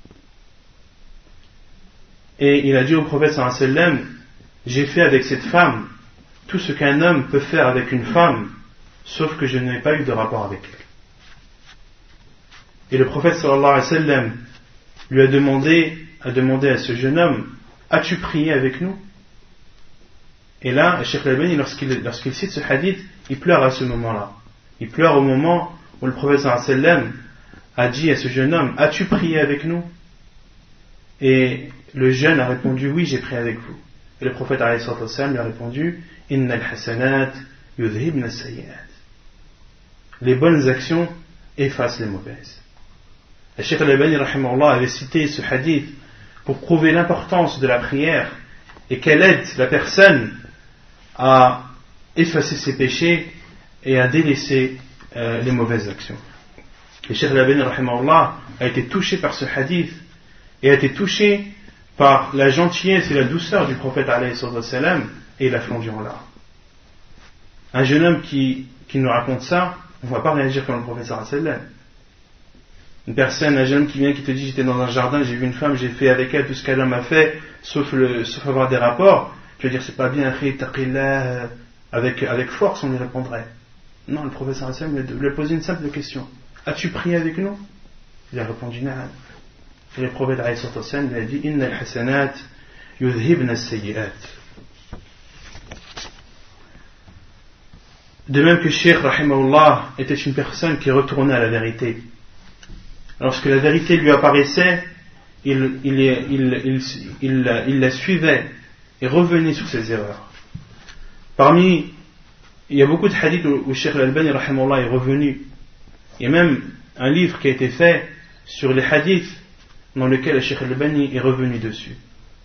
Et il a dit au prophète sallallahu alayhi wa sallam, j'ai fait avec cette femme tout ce qu'un homme peut faire avec une femme, sauf que je n'ai pas eu de rapport avec elle. Et le prophète sallallahu alayhi wa sallam lui a demandé à ce jeune homme, as-tu prié avec nous? Et là, Cheikh Al-Albani, lorsqu'il cite ce hadith, il pleure à ce moment-là. Il pleure au moment où le prophète sallallahu alayhi wa sallam a dit à ce jeune homme, as-tu prié avec nous? Et le jeune a répondu, oui, j'ai prié avec vous. Et le prophète alayhi wa sallam lui a répondu, innal hasanat yudhibna as-sayyi'at. Les bonnes actions effacent les mauvaises. Le Cheikh Al-Albani rahimahullah avait cité ce hadith pour prouver l'importance de la prière et qu'elle aide la personne à effacer ses péchés et à délaisser les mauvaises actions. Le Cheikh Al-Albani rahimahullah a été touché par ce hadith et a été touché par la gentillesse et la douceur du prophète alayhi salam, et il a fondu en larmes. Un jeune homme qui nous raconte ça, on ne va pas réagir comme le prophète sallallahu alayhi wa sallam. Une personne, un jeune homme qui vient, qui te dit, j'étais dans un jardin, j'ai vu une femme, j'ai fait avec elle tout ce qu'elle m'a fait, sauf avoir des rapports, tu vas dire, c'est pas bien, taqillah, avec force, on y répondrait. Non, le prophète sallallahu alayhi wa sallam lui a posé une simple question. As-tu prié avec nous? Il a répondu, na'am. Et le prophète alayhi sallam lui a dit, innal hasanat yudhibna as-sayyi'at. De même que Cheikh rahimahullah était une personne qui retournait à la vérité. Lorsque la vérité lui apparaissait, il la suivait et revenait sur ses erreurs. Il y a beaucoup de hadiths où Cheikh Al-Albani rahimahullah est revenu. Il y a même un livre qui a été fait sur les hadiths dans lequel Cheikh Al-Albani est revenu dessus.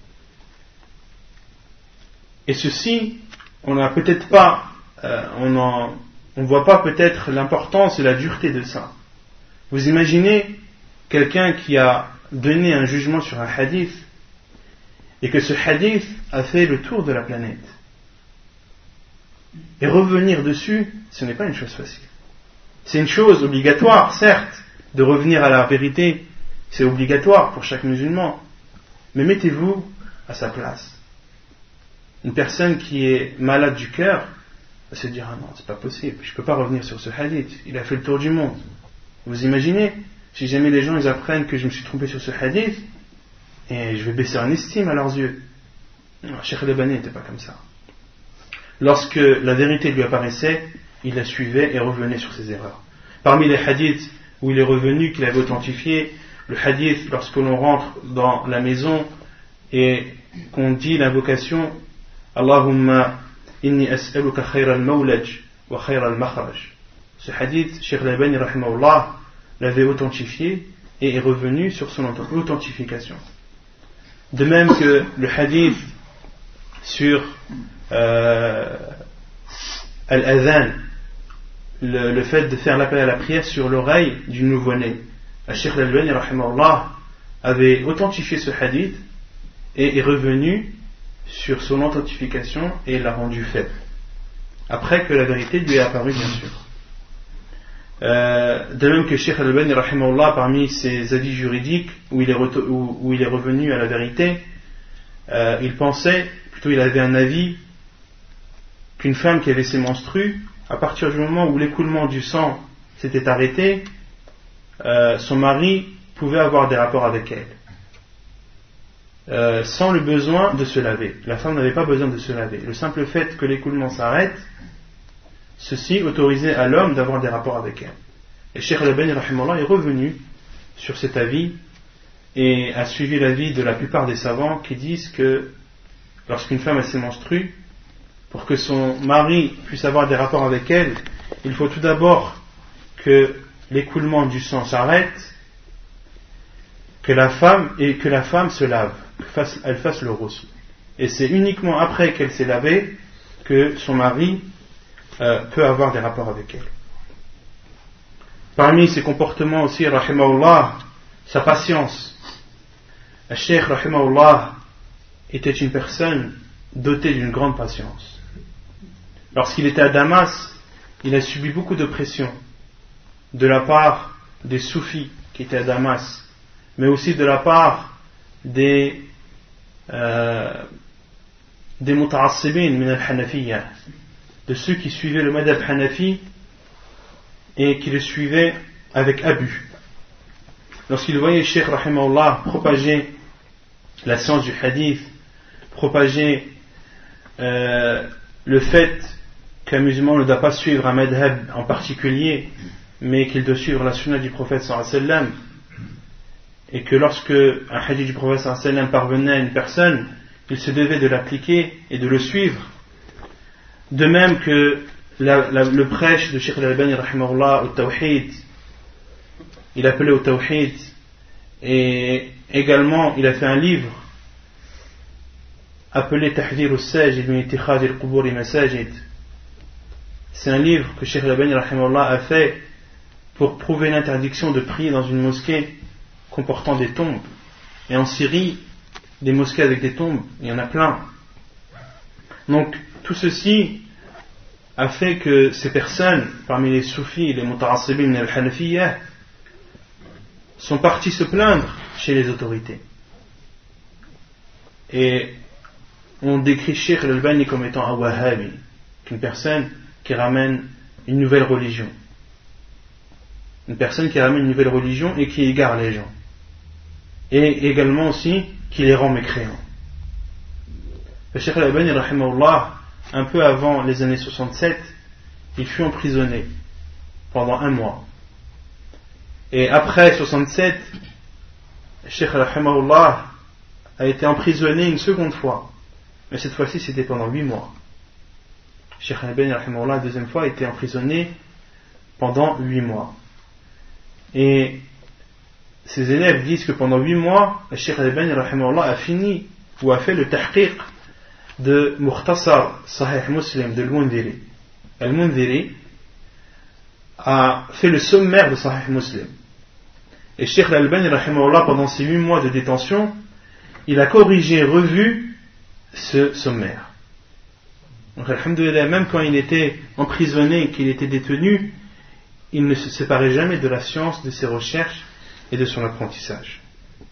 Et ceci, on n'a peut-être pas on ne voit pas peut-être l'importance et la dureté de ça. Vous imaginez quelqu'un qui a donné un jugement sur un hadith et que ce hadith a fait le tour de la planète. Et revenir dessus, ce n'est pas une chose facile. C'est une chose obligatoire, certes, de revenir à la vérité, c'est obligatoire pour chaque musulman. Mais mettez-vous à sa place. Une personne qui est malade du cœur va se dire, ah non, c'est pas possible, je peux pas revenir sur ce hadith, il a fait le tour du monde. Vous imaginez, si jamais les gens ils apprennent que je me suis trompé sur ce hadith, et je vais baisser en estime à leurs yeux. Non, Cheikh Al-Albani n'était pas comme ça. Lorsque la vérité lui apparaissait, il la suivait et revenait sur ses erreurs. Parmi les hadiths où il est revenu, qu'il avait authentifié, le hadith lorsque l'on rentre dans la maison et qu'on dit l'invocation Allahumma inni as'aluka khayra al-mawlaj wa khayra al-makhraj. Ce hadith, Cheikh Al-Albani rahimahullah l'avait authentifié et est revenu sur son authentification. De même que le hadith sur al-adhan, le fait de faire l'appel à la prière sur l'oreille du nouveau-né. Cheikh Al-Albani rahimahullah avait authentifié ce hadith et est revenu sur son authentification et l'a rendu faible. Après que la vérité lui est apparue, bien sûr. De même que Cheikh Al-Albani rahimahullah, parmi ses avis juridiques où il est revenu à la vérité, il avait un avis qu'une femme qui avait ses menstrues, à partir du moment où l'écoulement du sang s'était arrêté, son mari pouvait avoir des rapports avec elle sans le besoin de se laver. La femme n'avait pas besoin de se laver. Le simple fait que l'écoulement s'arrête, ceci autorisait à l'homme d'avoir des rapports avec elle. Et Cheikh Al-Albani rahimahullah est revenu sur cet avis et a suivi l'avis de la plupart des savants qui disent que lorsqu'une femme s'est menstrue, pour que son mari puisse avoir des rapports avec elle, il faut tout d'abord que l'écoulement du sang s'arrête, que la femme se lave, qu'elle fasse le ghusl. Et c'est uniquement après qu'elle s'est lavée que son mari peut avoir des rapports avec elle. Parmi ses comportements aussi, rahimahullah, sa patience. Le Cheikh, rahimahullah, était une personne dotée d'une grande patience. Lorsqu'il était à Damas, il a subi beaucoup de pression de la part des soufis qui étaient à Damas, mais aussi de la part des muta'assibin min al-Hanafiyya, de ceux qui suivaient le madhab Hanafi et qui le suivaient avec abus. Lorsqu'il voyait Cheikh rahimahullah propager la science du hadith, propager le fait qu'un musulman ne doit pas suivre un madhab en particulier, mais qu'il doit suivre la sunna du prophète sallallahu alayhi wa sallam, et que lorsque un hadith du prophète sallallahu alayhi wa sallam parvenait à une personne, il se devait de l'appliquer et de le suivre. De même que le prêche de Cheikh al-Albani rahimahullah au Tawhid, il appelait au Tawhid, et également il a fait un livre appelé Tahdhir al-Sajid min ittikhadh al-qubur masajid. C'est un livre que Cheikh al-Albani rahimahullah a fait pour prouver l'interdiction de prier dans une mosquée comportant des tombes. Et en Syrie, des mosquées avec des tombes, il y en a plein. Donc tout ceci a fait que ces personnes, parmi les soufis, les muta'assibin et les hanafiyya, sont partis se plaindre chez les autorités. Et on décrit Cheikh al-Albani comme étant un wahhabi, une personne qui ramène une nouvelle religion. Une personne qui ramène une nouvelle religion et qui égare les gens. Et également aussi qui les rend mécréants. Le Cheikh al-Albani rahimahullah, un peu avant les années 67, il fut emprisonné pendant 1 mois. Et après 67, le Cheikh rahimahullah a été emprisonné une seconde fois. Mais cette fois-ci, c'était pendant 8 mois. Le Cheikh al-Albani rahimahullah, la deuxième fois, a été emprisonné pendant 8 mois. Et ses élèves disent que pendant 8 mois, le Cheikh al-Albani rahimahullah a fini ou a fait le tahqiq de Mukhtasar Sahih Muslim de Al-Mundhiri. Al-Mundhiri a fait le sommaire de Sahih Muslim. Et Cheikh al-Albani rahimahullah, pendant ces 8 mois de détention, il a corrigé et revu ce sommaire. Donc alhamdoulilah, même quand il était emprisonné, qu'il était détenu, il ne se séparait jamais de la science, de ses recherches et de son apprentissage.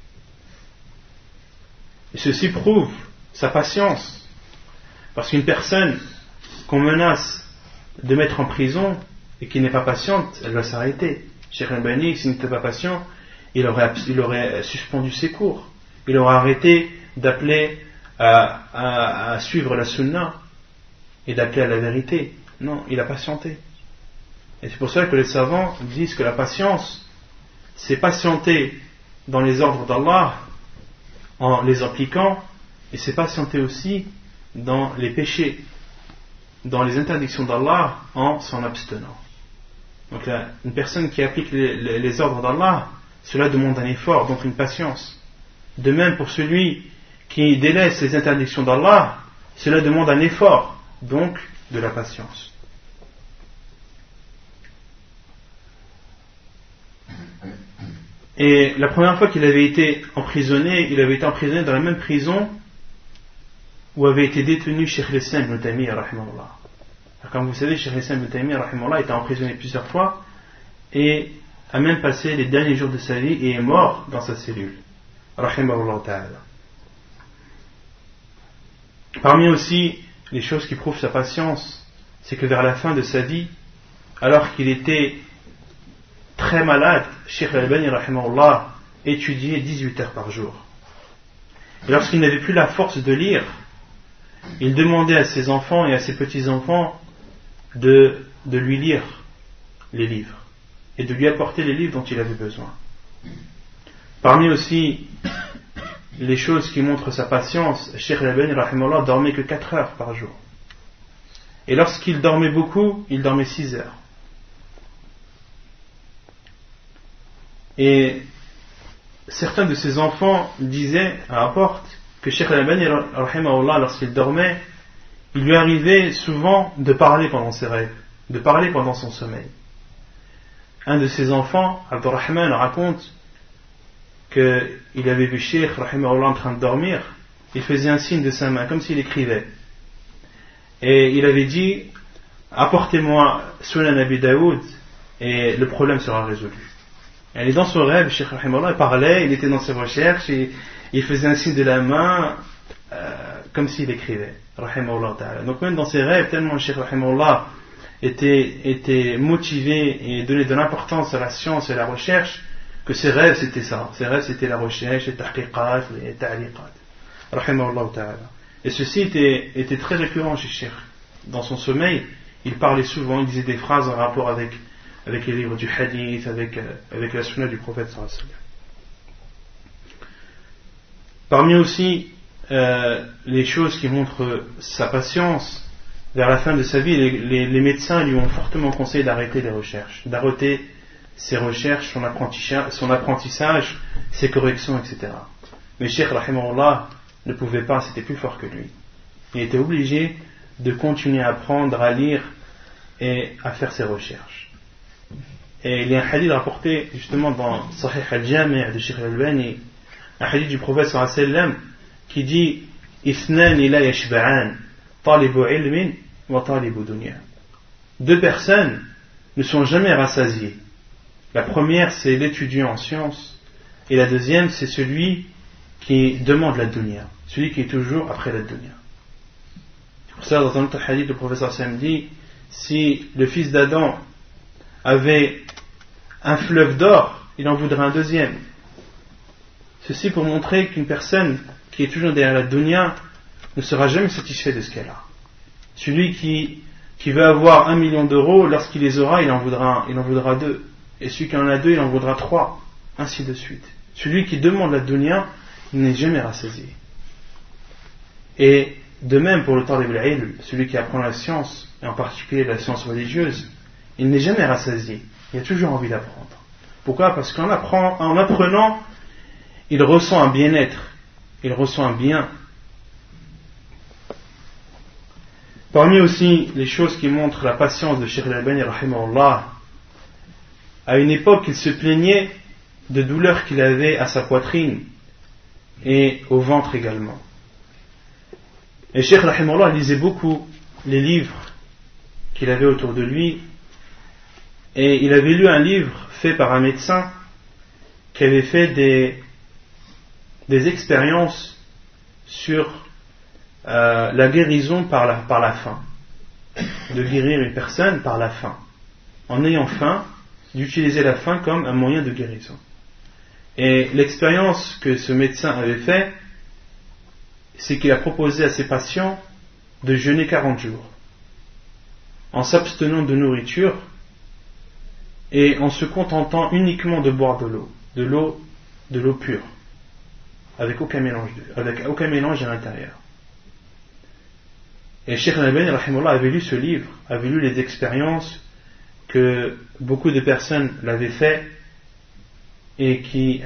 Et ceci prouve sa patience. Parce qu'une personne qu'on menace de mettre en prison et qui n'est pas patiente, elle va s'arrêter. Cheikh al-Albani, s'il n'était pas patient, il aurait suspendu ses cours. Il aurait arrêté d'appeler à suivre la sunna et d'appeler à la vérité. Non, il a patienté. Et c'est pour ça que les savants disent que la patience, c'est patienter dans les ordres d'Allah en les appliquant, et c'est patienter aussi dans les péchés, dans les interdictions d'Allah en s'en abstenant. Donc là, une personne qui applique les ordres d'Allah, cela demande un effort, donc une patience. De même pour celui qui délaisse les interdictions d'Allah, cela demande un effort, donc de la patience. Et la première fois qu'il avait été emprisonné, il avait été emprisonné dans la même prison où avait été détenu Cheikh al-Islam ibn Taymiyyah rahimahullah. Comme vous savez, Cheikh al-Islam ibn Taymiyyah rahimahullah était emprisonné plusieurs fois et a même passé les derniers jours de sa vie et est mort dans sa cellule. Rahimahullah ta'ala. Parmi aussi les choses qui prouvent sa patience, c'est que vers la fin de sa vie, alors qu'il était très malade, Cheikh al-Albani rahimahullah étudiait 18 heures par jour. Et lorsqu'il n'avait plus la force de lire, il demandait à ses enfants et à ses petits-enfants de lui lire les livres et de lui apporter les livres dont il avait besoin. Parmi aussi les choses qui montrent sa patience, Cheikh Al-Albani rahimahullah dormait que 4 heures par jour. Et lorsqu'il dormait beaucoup, il dormait 6 heures. Et certains de ses enfants disaient, rapportent, que Cheikh Al-Albani rahimahullah, lorsqu'il dormait, il lui arrivait souvent de parler pendant ses rêves, de parler pendant son sommeil. Un de ses enfants, Abdurrahman, raconte qu'il avait vu Cheikh rahimahullah en train de dormir, il faisait un signe de sa main, comme s'il écrivait. Et il avait dit, apportez-moi Sunan Abi Daoud et le problème sera résolu. Et dans son rêve, Cheikh rahimahullah parlait, il était dans ses recherches et il faisait un signe de la main comme s'il écrivait. Rahimahullah ta'ala. Donc même dans ses rêves, tellement Cheikh rahimahullah était motivé et donnait de l'importance à la science et à la recherche, que ses rêves c'était ça. Ses rêves c'était la recherche, les tahqiqat, les ta'liqat. Rahimahullah ta'ala. Et ceci était très récurrent chez Cheikh. Dans son sommeil, il parlait souvent, il disait des phrases en rapport avec les livres du hadith, avec la sunna du prophète sallallahu alayhi wa sallam. Parmi aussi les choses qui montrent sa patience, vers la fin de sa vie, les médecins lui ont fortement conseillé d'arrêter les recherches, d'arrêter ses recherches, son apprentissage, ses corrections, etc. Mais Cheikh rahimahullah ne pouvait pas, c'était plus fort que lui. Il était obligé de continuer à apprendre, à lire et à faire ses recherches. Et il y a un hadith rapporté justement dans Sahih al-Jami' de Cheikh Al-Albani, un hadith du prophète sallallahu alayhi wa sallam qui dit Ithnani la yashba'an, talibu ilmin wa talibu dunya. 2 personnes ne sont jamais rassasiées. La première c'est l'étudiant en sciences et la deuxième c'est celui qui demande la dunya, celui qui est toujours après la dunya. C'est pour ça dans un autre hadith le prophète sallallahu alayhi wa sallam dit si le fils d'Adam avait un fleuve d'or, il en voudrait un deuxième. Ceci pour montrer qu'une personne qui est toujours derrière la dunya ne sera jamais satisfait de ce qu'elle a. Celui qui veut avoir 1 million d'euros, lorsqu'il les aura, il en voudra 2. Et celui qui en a 2, il en voudra 3. Ainsi de suite. Celui qui demande la dunya, il n'est jamais rassasié. Et de même pour le talib al-ilm, celui qui apprend la science, et en particulier la science religieuse, il n'est jamais rassasié. Il a toujours envie d'apprendre. Pourquoi ? Parce qu'en apprenant, il ressent un bien-être, il ressent un bien. Parmi aussi les choses qui montrent la patience de Cheikh Al-Albani rahimahullah, à une époque il se plaignait de douleurs qu'il avait à sa poitrine et au ventre également. Et Cheikh rahimahullah lisait beaucoup les livres qu'il avait autour de lui, et il avait lu un livre fait par un médecin qui avait fait des expériences sur la guérison par la faim, de guérir une personne par la faim, en ayant faim, d'utiliser la faim comme un moyen de guérison. Et l'expérience que ce médecin avait fait, c'est qu'il a proposé à ses patients de jeûner 40 jours, en s'abstenant de nourriture et en se contentant uniquement de boire de l'eau pure, avec aucun mélange à l'intérieur. Et Cheikh Al-Albani rahimahullah avait lu ce livre, avait lu les expériences que beaucoup de personnes l'avaient fait et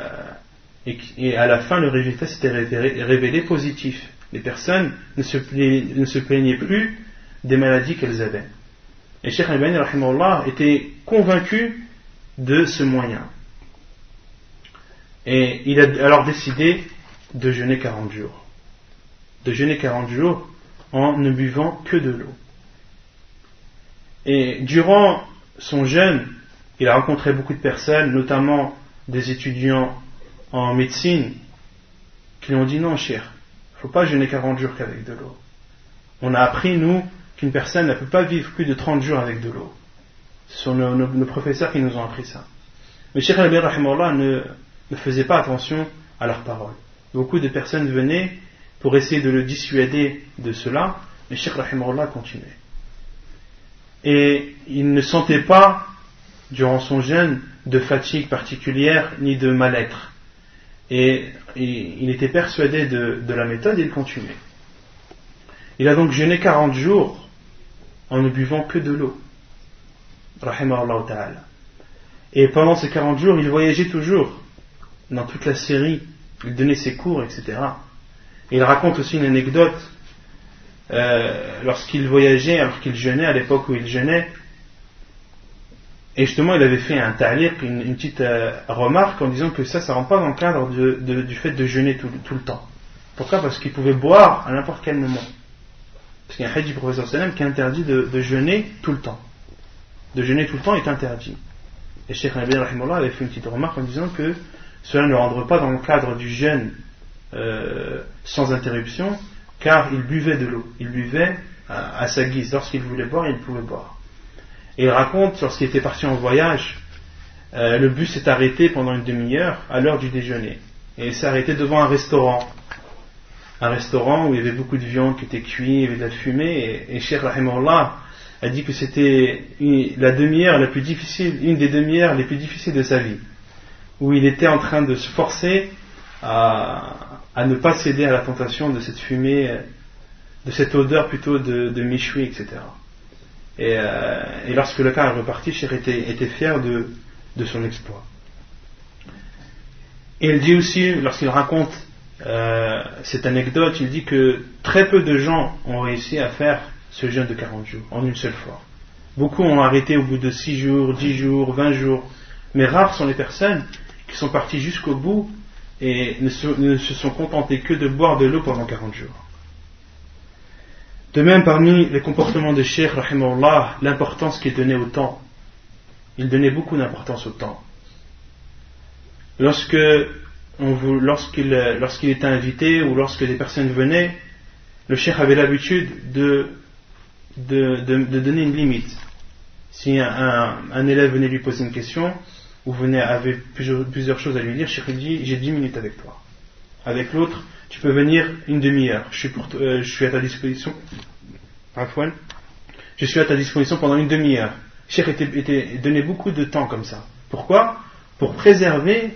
à la fin le résultat s'était révélé positif. Les personnes ne se plaignaient plus des maladies qu'elles avaient. Et Cheikh Al-Albani rahimahullah était convaincu de ce moyen. Et il a alors décidé de jeûner 40 jours. De jeûner 40 jours en ne buvant que de l'eau. Et durant son jeûne, il a rencontré beaucoup de personnes, notamment des étudiants en médecine, qui lui ont dit non, cher, il ne faut pas jeûner 40 jours qu'avec de l'eau. On a appris, nous, qu'une personne ne peut pas vivre plus de 30 jours avec de l'eau. Ce sont nos professeurs qui nous ont appris ça. Mais Cheikh Al-Albani rahimahullah ne faisait pas attention à leurs paroles. Beaucoup de personnes venaient pour essayer de le dissuader de cela, mais Cheikh rahimahullah continuait. Et il ne sentait pas, durant son jeûne, de fatigue particulière, ni de mal-être. Et il était persuadé de la méthode et il continuait. Il a donc jeûné 40 jours en ne buvant que de l'eau. Rahimahullah ta'ala. Et pendant ces 40 jours, il voyageait toujours dans toute la Syrie. Il donnait ses cours, etc. Et il raconte aussi une anecdote lorsqu'il voyageait, alors qu'il jeûnait, à l'époque où il jeûnait. Et justement, il avait fait un ta'liq, une petite remarque en disant que ça rentre pas dans le cadre du fait de jeûner tout le temps. Pourquoi ? Parce qu'il pouvait boire à n'importe quel moment. Parce qu'il y a un hadith du professeur sallam qui interdit de jeûner tout le temps. De jeûner tout le temps est interdit. Et Cheikh Al-Albani rahimahullah avait fait une petite remarque en disant que cela ne rentre pas dans le cadre du jeûne sans interruption, car il buvait de l'eau. Il buvait à sa guise. Lorsqu'il voulait boire, il pouvait boire. Et il raconte, lorsqu'il était parti en voyage, le bus s'est arrêté pendant une demi-heure à l'heure du déjeuner. Et il s'est arrêté devant un restaurant. Un restaurant où il y avait beaucoup de viande qui était cuite, il y avait de la fumée. Et Cheikh Rahimahullah a dit que c'était la demi-heure la plus difficile, une des demi-heures les plus difficiles de sa vie. Où il était en train de se forcer à ne pas céder à la tentation de cette fumée, de cette odeur plutôt de méchoui, etc. Et lorsque le cas est reparti, Cheikh était fier de son exploit. Et il dit aussi, lorsqu'il raconte cette anecdote, il dit que très peu de gens ont réussi à faire ce jeûne de 40 jours en une seule fois. Beaucoup ont arrêté au bout de 6 jours, 10 jours, 20 jours. Mais rares sont les personnes qui sont parties jusqu'au bout et ne se sont contentées que de boire de l'eau pendant 40 jours. De même, parmi les comportements de Cheikh rahimahullah, l'importance qu'il donnait au temps. Il donnait beaucoup d'importance au temps. Lorsqu'il était invité ou lorsque des personnes venaient, le Cheikh avait l'habitude de donner une limite. Si un élève venait lui poser une question ou avait plusieurs choses à lui dire, Cheikh dit: j'ai 10 minutes avec toi. Avec l'autre, tu peux venir une demi-heure. Je suis à ta disposition. Afwan. Je suis à ta disposition pendant une demi-heure. Cheikh donnait beaucoup de temps comme ça. Pourquoi ? Pour préserver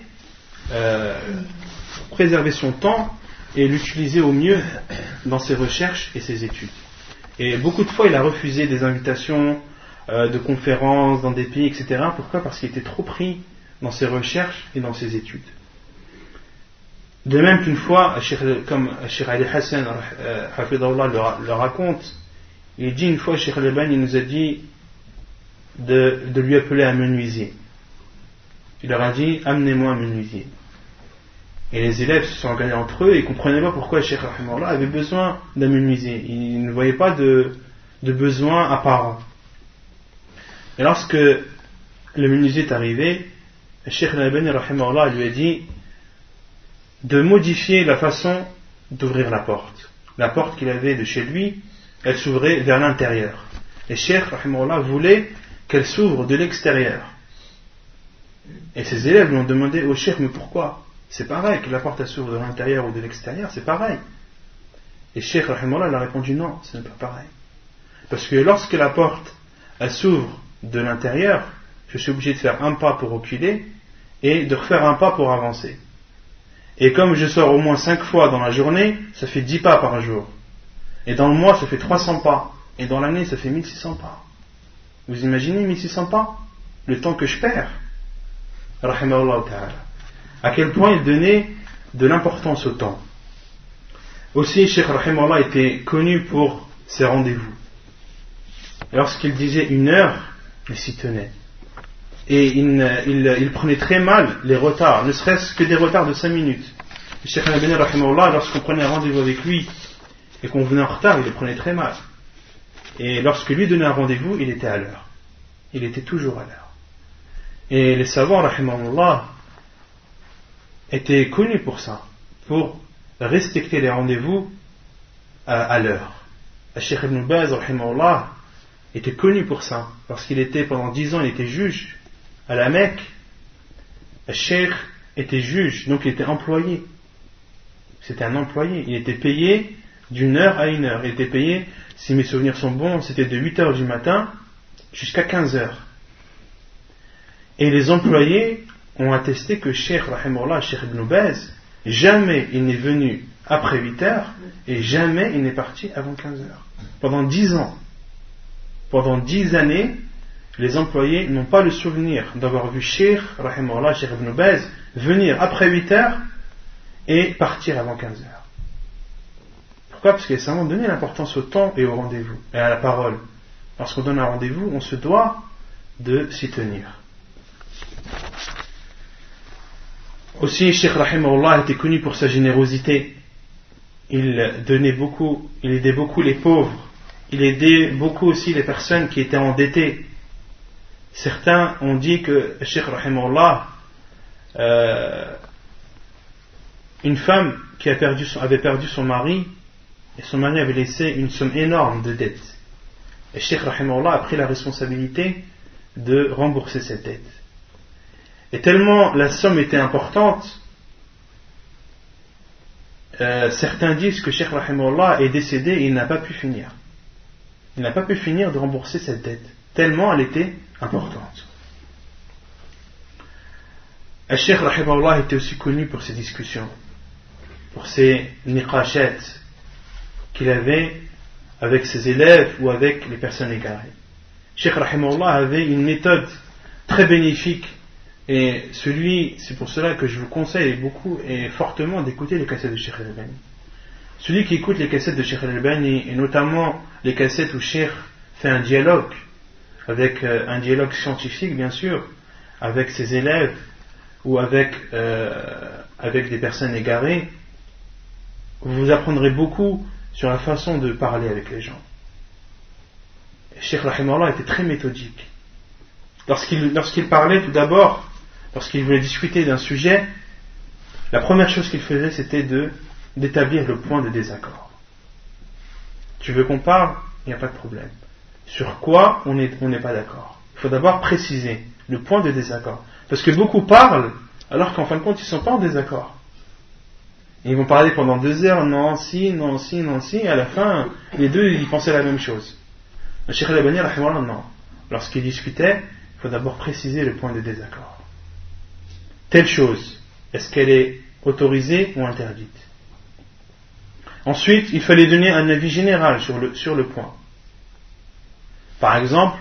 son temps et l'utiliser au mieux dans ses recherches et ses études. Et beaucoup de fois, il a refusé des invitations de conférences dans des pays, etc. Pourquoi ? Parce qu'il était trop pris dans ses recherches et dans ses études. De même qu'une fois, comme Cheikh Ali Hassan Hafidahullah le raconte, il dit une fois, Cheikh Al-Albani nous a dit de lui appeler un menuisier. Il leur a dit: amenez-moi un menuisier. Et les élèves se sont regardés entre eux et ne comprenaient pas pourquoi Cheikh Rahimahullah avait besoin d'un menuisier. Ils ne voyaient pas de besoin apparent. Et lorsque le menuisier est arrivé, Cheikh Al-Albani Rahimahullah lui a dit de modifier la façon d'ouvrir la porte. La porte qu'il avait de chez lui, elle s'ouvrait vers l'intérieur. Et Cheikh Rahimahullah voulait qu'elle s'ouvre de l'extérieur. Et ses élèves lui ont demandé: oh Cheikh, mais pourquoi ? C'est pareil, que la porte elle s'ouvre de l'intérieur ou de l'extérieur, c'est pareil. Et Cheikh Rahimahullah a répondu: non, ce n'est pas pareil. Parce que lorsque la porte elle s'ouvre de l'intérieur, je suis obligé de faire un pas pour reculer et de refaire un pas pour avancer. Et comme je sors au moins 5 fois dans la journée, ça fait 10 pas par jour. Et dans le mois, ça fait 300 pas. Et dans l'année, ça fait 1600 pas. Vous imaginez 1600 pas ? Le temps que je perds. Rahimahullah ta'ala. À quel point il donnait de l'importance au temps. Aussi, Cheikh Rahimahullah était connu pour ses rendez-vous. Lorsqu'il disait 1 heure, il s'y tenait. Et il prenait très mal les retards, ne serait-ce que des retards de 5 minutes. Le Cheikh Al-Albani rahimahullah, lorsqu'on prenait un rendez-vous avec lui et qu'on venait en retard, il les prenait très mal. Et lorsque lui donnait un rendez-vous, il était à l'heure. Il était toujours à l'heure. Et les savants rahimahullah étaient connus pour ça, pour respecter les rendez-vous à l'heure. Le Cheikh Ibn Baz rahimahullah était connu pour ça, parce qu'il était pendant 10 ans, il était juge à la Mecque. Le Cheikh était juge, donc il était employé. C'était un employé, il était payé d'1 heure à 1 heure. Il était payé, si mes souvenirs sont bons, c'était de 8 heures du matin jusqu'à 15 heures. Et les employés ont attesté que Cheikh Rahimahullah, Cheikh Ibn Baz, jamais il n'est venu après 8 heures et jamais il n'est parti avant 15 heures. Pendant 10 ans, pendant 10 années, les employés n'ont pas le souvenir d'avoir vu Cheikh Ibn Baz venir après 8 heures et partir avant 15 heures. Pourquoi ? Parce qu'il a simplement donné l'importance au temps et au rendez-vous et à la parole. Lorsqu'on donne un rendez-vous, on se doit de s'y tenir. Aussi, Cheikh Rahimahullah était connu pour sa générosité. Il aidait beaucoup les pauvres. Il aidait beaucoup aussi les personnes qui étaient endettées. Certains ont dit que Cheikh Rahimahullah, une femme qui avait perdu son mari, et son mari avait laissé une somme énorme de dettes. Et Cheikh Rahimahullah a pris la responsabilité de rembourser cette dette. Et tellement la somme était importante, certains disent que Cheikh Rahimahullah est décédé et il n'a pas pu finir. Il n'a pas pu finir de rembourser cette dette, tellement elle était importante. Et Cheikh Rahimahullah était aussi connu pour ses discussions, pour ses niqashat qu'il avait avec ses élèves ou avec les personnes égarées. Cheikh Rahimahullah avait une méthode très bénéfique. Et c'est pour cela que je vous conseille beaucoup et fortement d'écouter les cassettes de Cheikh Al-Albani. Celui qui écoute les cassettes de Cheikh Al-Albani, et notamment les cassettes où Cheikh fait un dialogue, avec un dialogue scientifique bien sûr, avec ses élèves ou avec des personnes égarées, vous apprendrez beaucoup sur la façon de parler avec les gens. Cheikh Rahimahullah était très méthodique. Lorsqu'il parlait tout d'abord, lorsqu'il voulait discuter d'un sujet, la première chose qu'il faisait, c'était d'établir le point de désaccord. Tu veux qu'on parle ? Il n'y a pas de problème. Sur quoi on n'est pas d'accord ? Il faut d'abord préciser le point de désaccord. Parce que beaucoup parlent, alors qu'en fin de compte, ils ne sont pas en désaccord. Et ils vont parler pendant 2 heures, non, si, et à la fin, les deux, ils pensaient la même chose. Le Cheikh Al-Albani, non. Lorsqu'il discutait, il faut d'abord préciser le point de désaccord. Telle chose, est-ce qu'elle est autorisée ou interdite ? Ensuite, il fallait donner un avis général sur le point. Par exemple,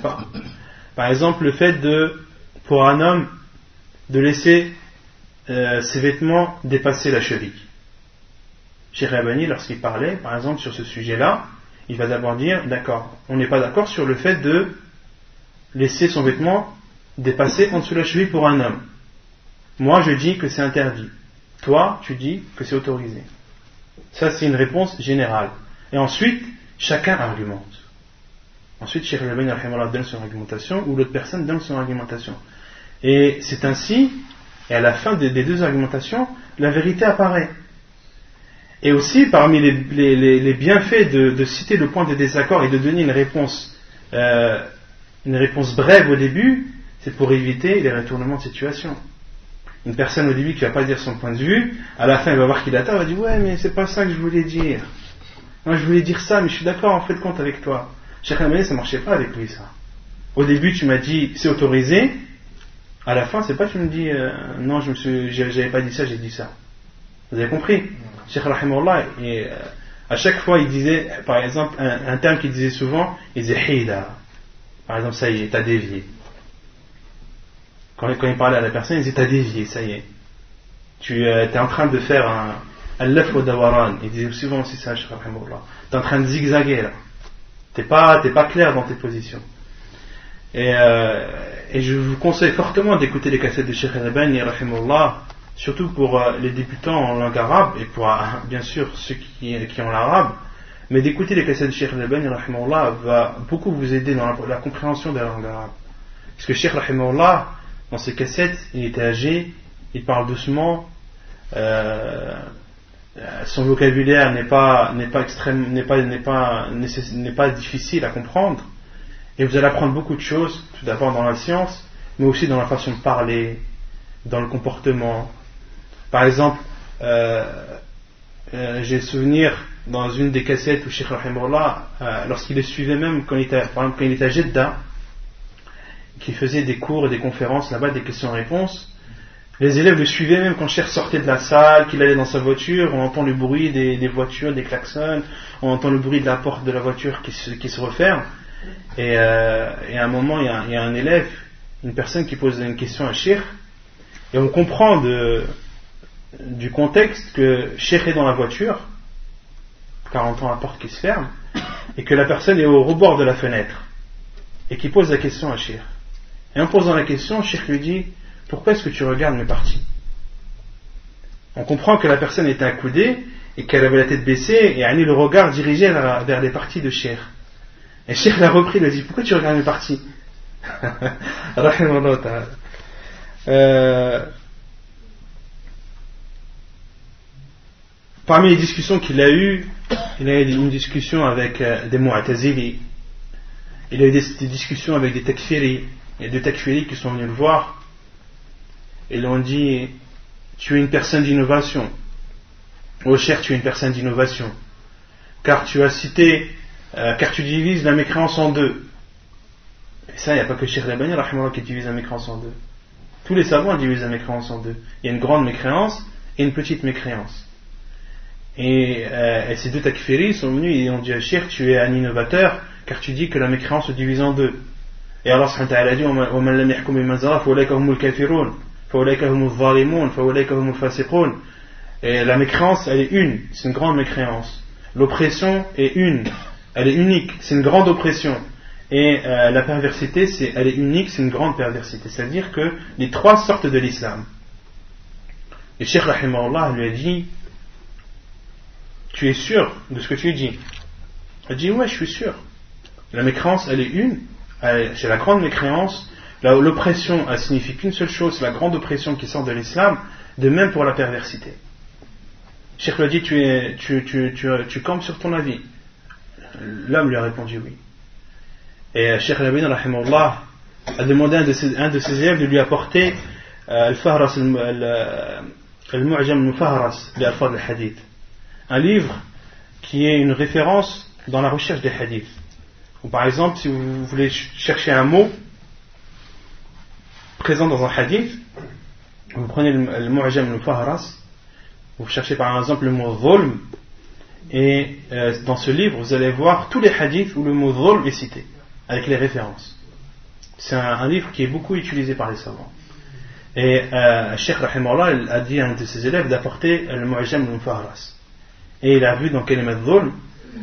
le fait pour un homme de laisser ses vêtements dépasser la cheville. Cheikh Al-Albani, lorsqu'il parlait, par exemple, sur ce sujet-là, il va d'abord dire, d'accord, on n'est pas d'accord sur le fait de laisser son vêtement dépasser en dessous de la cheville pour un homme. Moi, je dis que c'est interdit. Toi, tu dis que c'est autorisé. Ça, c'est une réponse générale. Et ensuite, chacun argumente. Ensuite, Cheikh Al-Albani donne son argumentation, ou l'autre personne donne son argumentation. Et c'est ainsi, et à la fin des 2 argumentations, la vérité apparaît. Et aussi, parmi les bienfaits de citer le point de désaccord et de donner une réponse brève au début, c'est pour éviter les retournements de situation. Une personne au début qui ne va pas dire son point de vue, à la fin elle va voir qu'il a tort, elle va dire ouais mais c'est pas ça que je voulais dire. Moi je voulais dire ça mais je suis d'accord en fait de compte avec toi. Cheikh Al-Albani ça marchait pas avec lui ça. Au début tu m'as dit c'est autorisé, à la fin c'est pas tu me dis non j'avais pas dit ça, j'ai dit ça. Vous avez compris? Cheikh Rahimahullah à chaque fois il disait par exemple un terme qu'il disait souvent, il disait hida. Par exemple ça y est, t'as dévié. Quand il parlait à la personne, il disait t'as dévié, ça y est. Tu es en train de faire un lef au dawaran. Il disait souvent aussi ça, Cheikh Rahimahullah. Tu es en train de zigzaguer là. T'es pas clair dans tes positions. Et je vous conseille fortement d'écouter les cassettes de Cheikh Al-Albani Rahimahullah, surtout pour les débutants en langue arabe et pour bien sûr ceux qui ont l'arabe. Mais d'écouter les cassettes de Cheikh Al-Albani Rahimahullah va beaucoup vous aider dans la compréhension de la langue arabe. Parce que Cheikh Rahimahullah, dans ses cassettes, il était âgé, il parle doucement, son vocabulaire n'est pas difficile à comprendre, et vous allez apprendre beaucoup de choses, tout d'abord dans la science, mais aussi dans la façon de parler, dans le comportement. Par exemple, j'ai souvenir dans une des cassettes où Cheikh Rahimahullah, lorsqu'il le suivait même quand il était à Jeddah, qui faisait des cours et des conférences là-bas, des questions-réponses, Les élèves le suivaient même quand Cheikh sortait de la salle, qu'il allait dans sa voiture, on entend le bruit des voitures, des klaxons, on entend le bruit de la porte de la voiture qui se referme. Et à un moment, il y a un élève, une personne qui pose une question à Cheikh, et on comprend du contexte que Cheikh est dans la voiture, car on entend la porte qui se ferme, et que la personne est au rebord de la fenêtre, et qui pose la question à Cheikh. Et en posant la question, Cheikh lui dit: pourquoi est-ce que tu regardes mes parties? On comprend que la personne était accoudée et qu'elle avait la tête baissée et le regard dirigé vers les parties de Cheikh. Et Cheikh l'a repris, il lui a dit: pourquoi tu regardes mes parties? Parmi les discussions qu'il a eues, il a eu une discussion avec des Mu'tazili, il a eu des discussions avec des Takfiri. Il y a deux Takfiri qui sont venus le voir et lui ont dit: tu es une personne d'innovation. Oh cher, tu es une personne d'innovation, car tu divises la mécréance en deux. Et ça, il n'y a pas que Cheikh Al-Albani qui divise la mécréance en deux. Tous les savants divisent la mécréance en deux. Il y a une grande mécréance et une petite mécréance. Et ces deux takfiris sont venus et ont dit à Cheikh: tu es un innovateur, car tu dis que la mécréance se divise en deux. Et Allah subhanahu wa ta'ala dit: وَمَنْ لَمْ يَحْكُمْ بِمَا أَنزَلَ اللَّهُ فَأُولَئِكَ هُمُ الْكَافِرُونَ فَأُولَئِكَ هُمُ الظَّالِمُونَ فَأُولَئِكَ هُمُ الْفَاسِقُونَ. Et la mécréance, elle est une, c'est une grande mécréance. L'oppression est une, elle est unique, c'est une grande oppression. Et la perversité, elle est unique, c'est une grande perversité. C'est-à-dire que les trois sortent de l'islam. Et Cheikh rahimahullah lui a dit: tu es sûr de ce que tu dis? Il a dit: ouais, je suis sûr. La mécréance, elle est une, c'est la grande mécréance. L'oppression, elle signifie qu'une seule chose, c'est la grande oppression qui sort de l'islam. De même pour la perversité. Cheikh lui a dit: tu campes sur ton avis? L'homme lui a répondu oui. Et Cheikh Al-Albani rahimahullah a demandé à un de ses élèves de lui apporter Al-Fahras Al-Mu'jam Al-Mufahras bi Alfaz Al-Hadith, un livre qui est une référence dans la recherche des hadiths. Ou par exemple, si vous voulez chercher un mot présent dans un hadith, vous prenez le Mu'jam Al-Mufahras, vous cherchez par exemple le mot Zulm, et dans ce livre vous allez voir tous les hadiths où le mot Zulm est cité, avec les références. C'est un livre qui est beaucoup utilisé par les savants. Et Cheikh rahimahullah a dit à un de ses élèves d'apporter le Mu'jam Al-Mufahras. Et il a vu dans Kalimat Zulm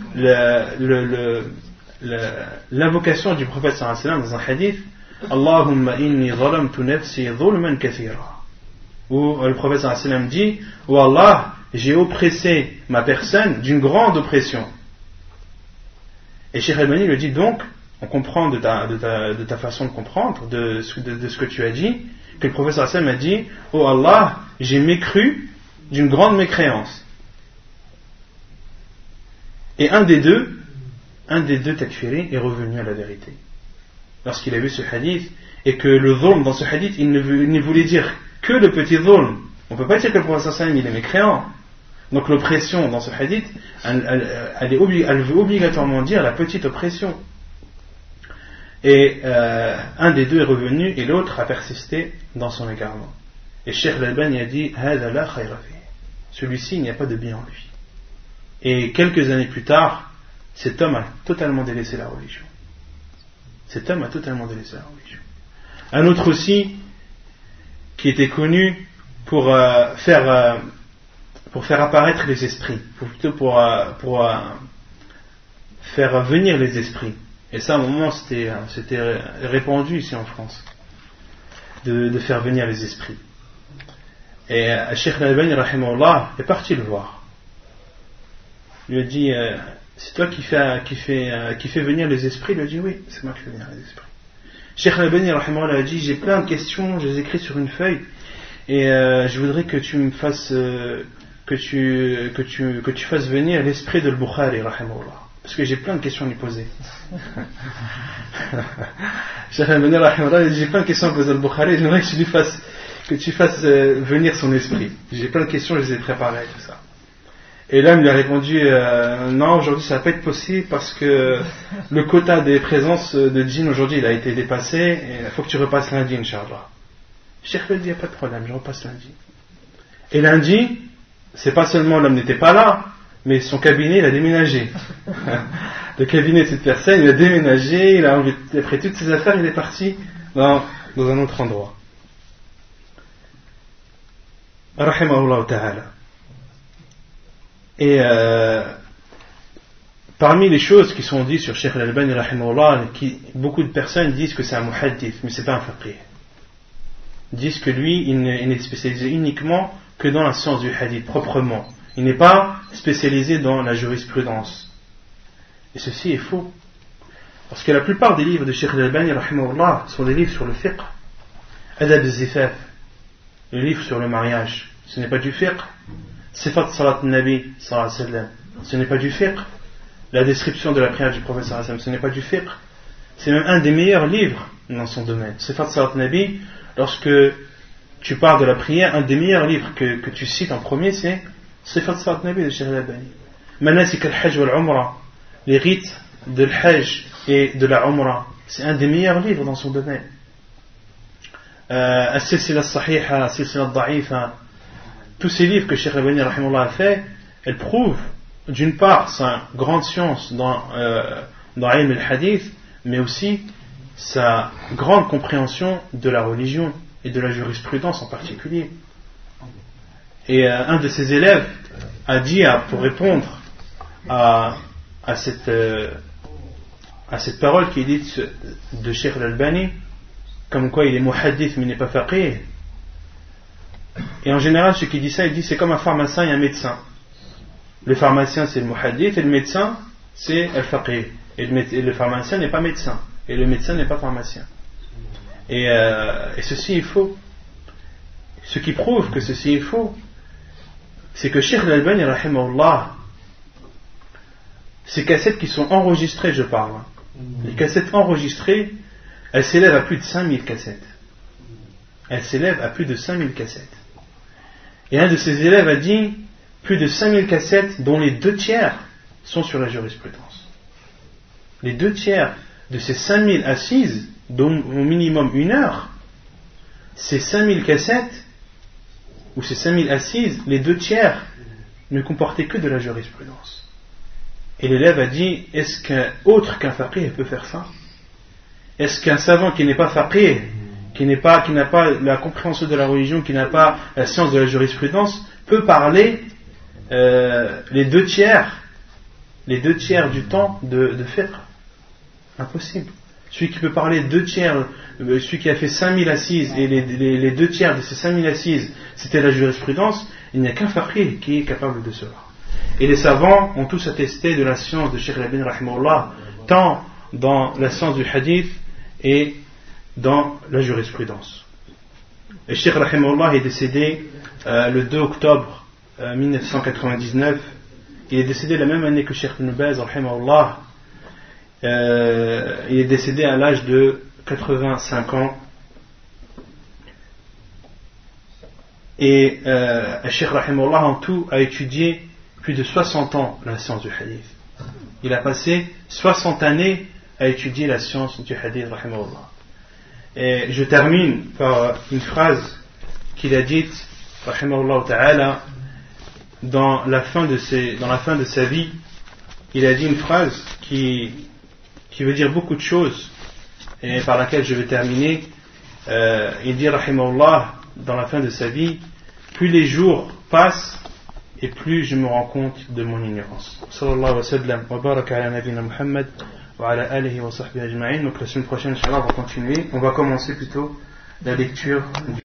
l'invocation du prophète sallallahu alayhi wa sallam dans un hadith: Allahumma inni zalamtu nafsi zulman kathira. Où le prophète sallallahu alayhi wa sallam dit: oh Allah, j'ai oppressé ma personne d'une grande oppression. Et Cheikh Al-Albani lui dit: donc, on comprend de ta façon de comprendre, de ce que tu as dit, que le prophète sallallahu alayhi wa sallam a dit: oh Allah, j'ai mécru d'une grande mécréance. Et un des deux takfiri est revenu à la vérité lorsqu'il a vu ce hadith, et que le zulm dans ce hadith, il ne voulait dire que le petit zulm. On ne peut pas dire que le prophète sallallahu alayhi wa sallam il est mécréant. Donc l'oppression dans ce hadith, elle veut obligatoirement dire la petite oppression. Et un des deux est revenu et l'autre a persisté dans son égarement. Et Cheikh Al-Albani a dit: Hada la khayra fi. Celui-ci, il n'y a pas de bien en lui. Et quelques années plus tard, cet homme a totalement délaissé la religion. Un autre aussi, qui était connu pour faire apparaître les esprits, pour faire venir les esprits. Et ça, à un moment, c'était répandu ici en France, de faire venir les esprits. Et Cheikh Al-Albani rahimahullah est parti le voir. Il lui a dit: c'est toi qui fais venir les esprits? Il lui a dit: oui, c'est moi qui fais venir les esprits. Cheikh Al-Albani rahimahullah a dit: j'ai plein de questions, je les écris sur une feuille, et je voudrais que tu me fasses que tu fasses venir l'esprit de Al-Bukhari rahimahullah, parce que j'ai plein de questions à lui poser. Cheikh Al-Albani rahimahullah a dit: j'ai plein de questions à poser à Al-Bukhari, j'aimerais que tu fasses venir son esprit. J'ai plein de questions, je les ai préparées, tout ça. Et l'homme lui a répondu: non, aujourd'hui ça va pas être possible parce que le quota des présences de djinns aujourd'hui il a été dépassé, et il faut que tu repasses lundi, Inch'Allah. Cheikh lui a dit, il n'y a pas de problème, je repasse lundi. Et lundi, c'est pas seulement l'homme n'était pas là, mais son cabinet, il a déménagé. Le cabinet de cette personne, il a déménagé, il a pris toutes ses affaires, il est parti dans un autre endroit. Rahimahullah ta'ala. Et parmi les choses qui sont dites sur Cheikh Al-Albani rahimahullah, beaucoup de personnes disent que c'est un muhaddith, mais c'est pas un faqih. Ils disent que lui, il n'est spécialisé uniquement que dans la science du hadith, proprement. Il n'est pas spécialisé dans la jurisprudence. Et ceci est faux. Parce que la plupart des livres de Cheikh Al-Albani rahimahullah sont des livres sur le fiqh. Adab al-Zifaf, le livre sur le mariage, ce n'est pas du fiqh. Sifat salat al-Nabi sallallahu alayhi wa sallam, ce n'est pas du fiqh. La description de la prière du prophète sallallahu alayhi wa sallam, ce n'est pas du fiqh. C'est même un des meilleurs livres dans son domaine. Sifat salat al-Nabi, lorsque tu parles de la prière, un des meilleurs livres que tu cites en premier, c'est Sifat salat al-Nabi de Cheikh Al-Albani. Manasik al-Hajj wal-Umrah, les rites de l'Hajj et de la Umrah, c'est un des meilleurs livres dans son domaine. As-Silsila as-Sahiha, As-Silsila ad-Da'ifa, tous ces livres que Cheikh Al-Albani rahimahullah a fait, elles prouvent d'une part sa grande science dans ilm al-hadith, mais aussi sa grande compréhension de la religion et de la jurisprudence en particulier. Et un de ses élèves a dit, pour répondre à cette parole qui est dite de Cheikh Al-Albani, comme quoi il est muhaddith mais il n'est pas faqih. Et en général, ceux qui disent ça, ils disent c'est comme un pharmacien et un médecin. Le pharmacien c'est le muhaddith et le médecin c'est le faqih. Et le pharmacien n'est pas médecin. Et le médecin n'est pas pharmacien. Et ceci est faux. Ce qui prouve que ceci est faux, c'est que Cheikh Al-Albani rahimahullah, ces cassettes qui sont enregistrées, je parle, les cassettes enregistrées, elles s'élèvent à plus de 5000 cassettes. Elles s'élèvent à plus de 5000 cassettes. Et un de ses élèves a dit plus de 5000 cassettes dont les 2/3 sont sur la jurisprudence. Les 2/3 de ces 5000 assises, dont au minimum 1 heure, ces 5000 cassettes, ou ces 5000 assises, les 2/3 ne comportaient que de la jurisprudence. Et l'élève a dit, est-ce qu'un autre qu'un faqih peut faire ça? Est-ce qu'un savant qui n'est pas faqih, qui n'a pas la compréhension de la religion, qui n'a pas la science de la jurisprudence, peut parler les 2/3 du temps de fiqh? Impossible. Celui qui peut parler 2/3, celui qui a fait 5000 assises et les 2/3 de ces 5000 assises c'était la jurisprudence, il n'y a qu'un faqih qui est capable de cela. Et les savants ont tous attesté de la science de Cheikh Al-Albani rahimahullah, tant dans la science du hadith et dans la jurisprudence. Et Cheikh rahimahullah est décédé le 2 octobre 1999. Il est décédé la même année que Cheikh Ibn Baz rahimahullah. Il est décédé à l'âge de 85 ans. Et Cheikh rahimahullah en tout a étudié plus de 60 ans la science du hadith. Il a passé 60 années à étudier la science du hadith rahimahullah. Et je termine par une phrase qu'il a dite rahimahullah ta'ala dans la fin de sa vie. Il a dit une phrase qui veut dire beaucoup de choses et par laquelle je vais terminer. Il dit rahimahullah dans la fin de sa vie, plus les jours passent et plus je me rends compte de mon ignorance. Sallallahu wa sallam wa baraka ala nabina Muhammad wa ala alihi wa sahbihi ajma'in. Donc la semaine prochaine, Inch'Allah, on va continuer. On va commencer plutôt la lecture